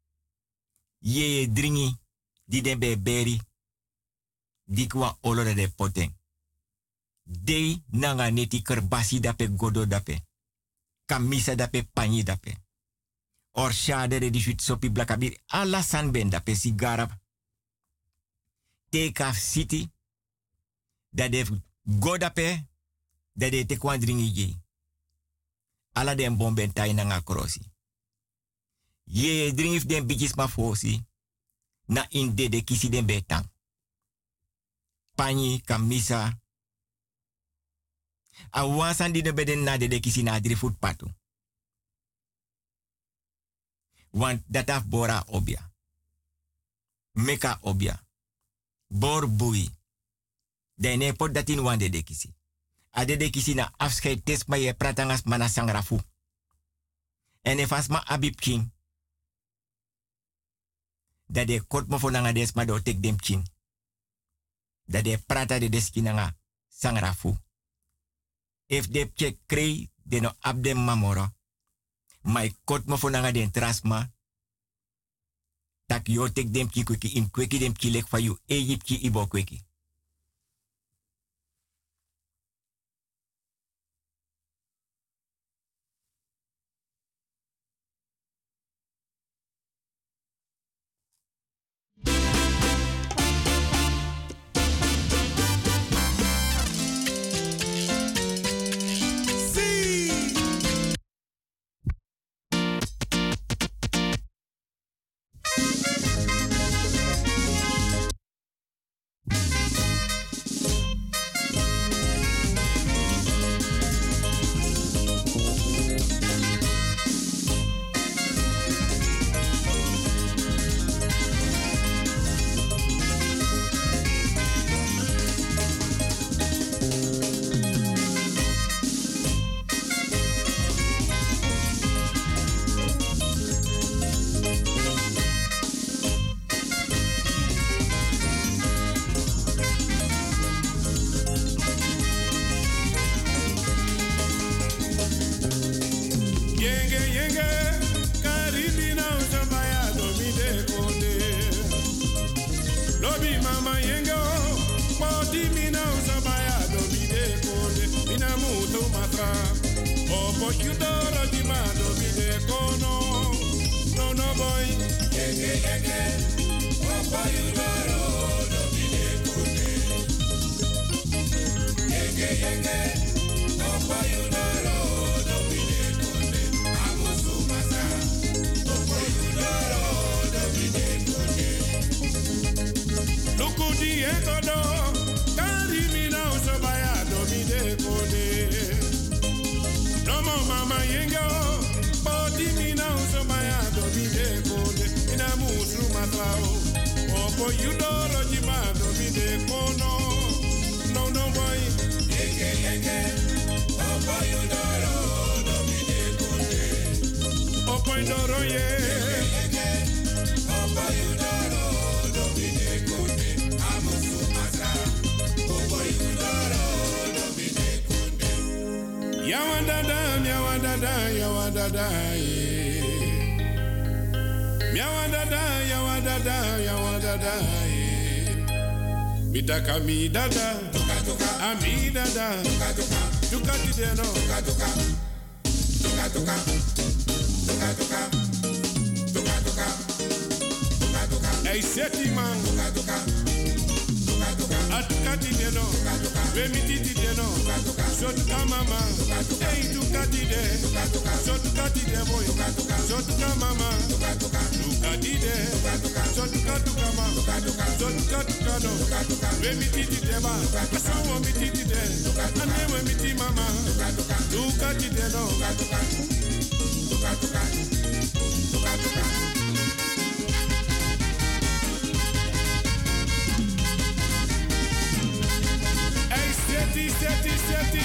[SPEAKER 7] Ye dringi. Di den be beri. Dikwa olore de poteng. Dei nanga neti kerbasi dape godo dape. Kamisa dape panyi dape. Or shade de disuit sopi blakabir. Alla san ben dape sigara. Take off city. Dat de go dape. Dat de te kwan dringi je. Alla den bomben tai nanga krosi. Ye dringi den bijis ma fosi. Na in de de kisi den betang. Panyi kamisa. A wansan di de beden na de de kisi na drie voet patu. Want dat af bora obia. Meka obia. Bor bui. Dene pot datin wan de de kisi. A de de kisi na afscheid tes ma ye pratangas mana sangrafu. En e fasma abib king. Dat de kot mo fonanga des ma do tek dem king. Dat de prata de deskinanga sangrafu. If de check krei de no abdem mamoro. My kot mo fonanga den trasma. Tak yo tek dem ki kweki in kweki dem ki lek fa you Egypt ki ibo kweki.
[SPEAKER 12] Mitaka mi dada, ami dada, tuka ti deno, tuka tuka, tuka tuka, tuka tuka, tuka tuka, tuka tuka. Hey seti man, tuka tuka, tuka tuka, atuka ti deno, tuka tuka, we mi ti ti deno, tuka tuka, so tuka mama, tuka tuka, hey tuka ti de, tuka tuka, so tuka ti de boy, tuka tuka, so tuka mama, tuka tuka, tuka ti de, tuka tuka, so tuka tuka mama, tuka tuka, so tuka tuka no, tuka tuka, we mi ti ti de ba, so wo mi ti ti de, tuka tuka, ane we mi ti mama, tuka tuka, tuka ti de no, tuka tuka, tuka tuka, tuka tuka. Seti, seti, seti.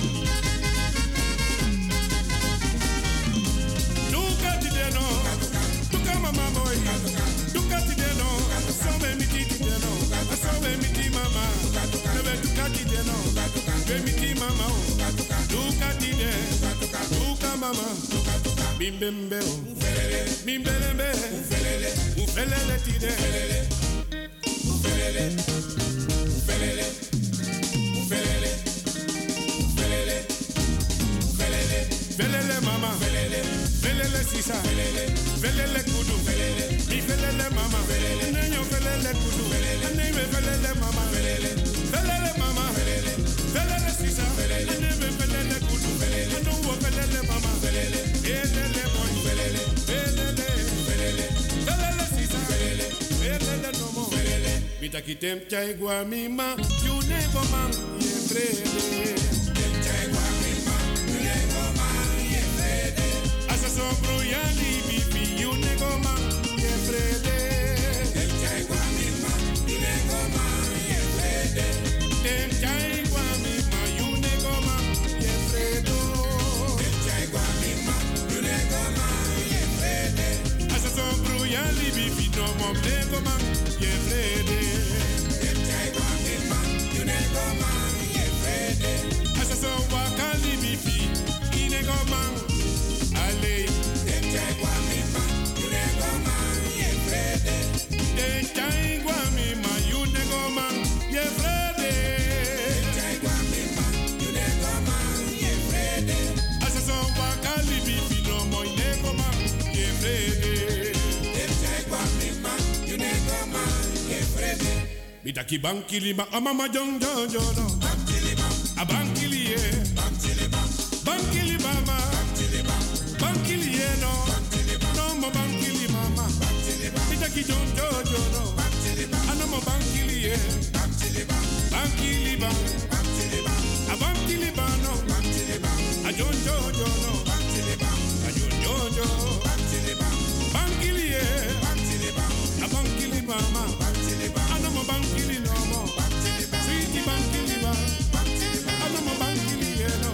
[SPEAKER 12] Duka ti deno, duka mama boy, duka ti deno, so me mi ti deno, so me mi ti mama, nebe duka ti deno. Femiti mama, Duka tide, Duka mama, Bimbembe, Bimbelembe, Ufelele tide, Ufelele, Ufelele, Ufelele, Ufelele, Ufelele, Velele mama, Velele sisa, Velele kudu, Mi velele mama, Nenyo velele kudu, Neme velele mama, Velele mama, Velele sisa, Neme velele kudu, Anu velele mama, Velele boy, Velele, Velele, Velele sisa, Velele nomo, Bitaki tem chai gua mima, you nego man, ye brede. Sombro ya libi fi you nego man ye frede. El chai gua mi ma you nego man ye frede. El chai gua mi ma you nego man ye fredo. El chai gua mi ma you nego man ye frede. Asa sombro ya libi fi no mo nego man ye frede. El chai gua mi ma you nego man ye frede. Asa so wa libi fi i nego man. Ale, Denchai Guamima, you nego man, ye frede. Denchai Guamima, you nego man, ye frede. Denchai Guamima, you nego man, ye frede. Asaso wakali bibi no mo nego man, ye frede. Denchai Guamima, you nego man, ye frede. Bitaki bankili ma amama jong jong jong no. Bankili bam, a bankili ye. Bankili bam, bankili bama. Bankili no, no mo bankili mama. Bitaki jon jojo no, ano mo bankili ye. Bankili ba, a bankili ba no, a jon jojo no, a jon jojo. Bankili ye, a bankili mama. Ano mo bankili no mo, sweetie bankili ba, ano mo bankili ye no.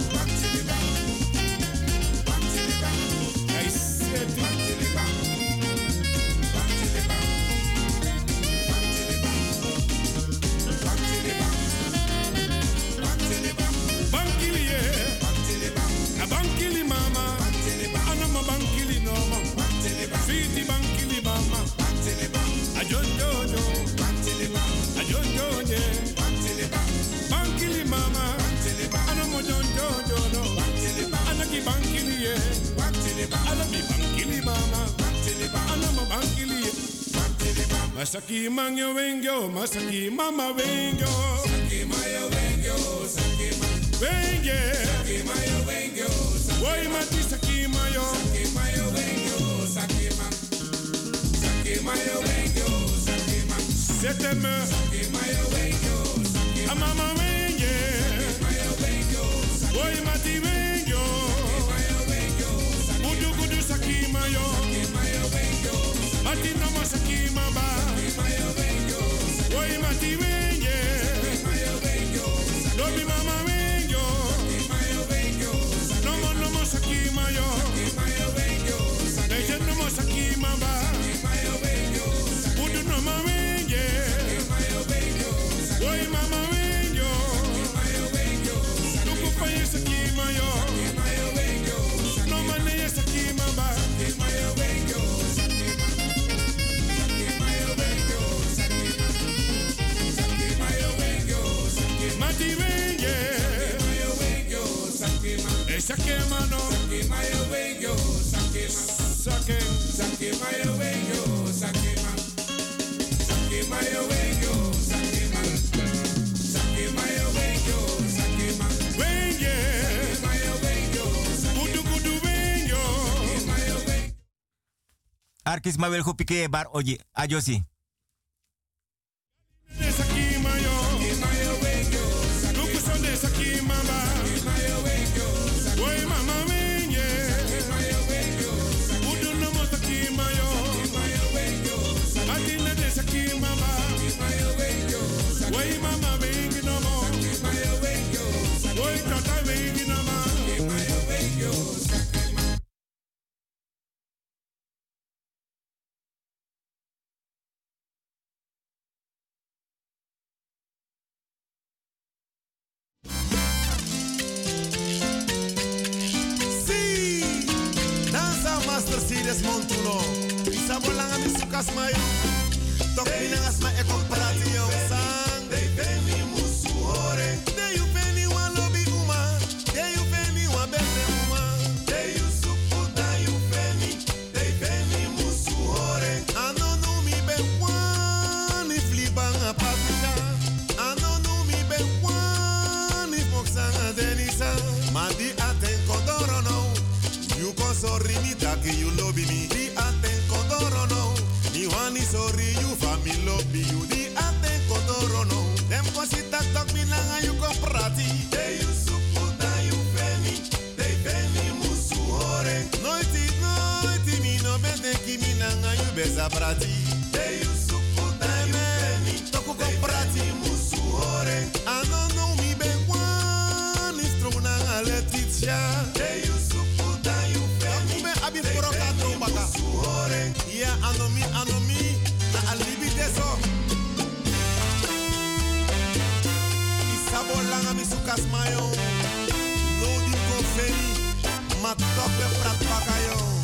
[SPEAKER 12] Masaki mangyo wengo, masaki mama wengo. Saki mayo wengo, saki ma. Wenge. Saki mayo wengo, saki ma. Woi mati saki mayo. Saki mayo wengo, saki ma. Saki mayo wengo, saki ma. Seteme. Saki mayo wengo, saki ma. Amama wenge. Saki mayo wengo, saki ma. Woi mati wengo. Saki mayo wengo, saki ma. Gudu gudu saki mayo. Saki mayo wengo. Mati nama saki mama. Oi mati wenye, dobi mama wenyo, nomo nomo saki mayo, deje nomo saki mama, udu nomo wenye, oi mama wenyo, tuku paye saki mayo, nomo neye saki mama. Mati wenye, sake mano, sake mayo wenyo, sake ma, sake, sake mayo wenyo, sake ma, sake mayo wenyo, sake ma, sake mayo wenyo, sake ma, wenye, mayo wenyo, kudu kudu wenyo, mayo wenyo.
[SPEAKER 7] Arkis ma wel gopike bar oji, ajosi.
[SPEAKER 12] Sake mayo, mayo wenyo, sake sonde sake mama, mayo wenyo, oi mama wenye, mayo wenyo, udu no mo sake mayo, mayo wenyo, atina de sake mama, mayo wenyo, oi mama wenyo no mo, mayo wenyo, oi tata wenyo no ma, mayo wenyo. Desmond Tuno. Isabo lang ami sukas mayo. Tok minangas ma eko prati yo sang. They veni musu hore. They you veni wan lobby uma. They you veni wan bebe uma. They you suku da you veni. They veni musu hore. Ano no mi be wan if libang a papisha. Ano no mi be wan if moksang a denisa. Madi aten kodoro no. You con sorry me taki you lobby me. Di aten kodoro no. Ni wani sorry you family lobby you. Di aten kodoro no. Dem kosi tak tak binanga you ko prati. They you suku da you veni. They veni musu hore. Noiti noiti mi no bete ki minanga you beza prati. They you suku da you veni. Toku ko prati musu hore. Ano no mi be wani struna Letitia. They you suku da you veni. Me abi foroka trombaka. Yeah, anomi anomi na alibi deso. Isabo langa mi sukas mayo. No di ko feni. Ma tope prat pakayo.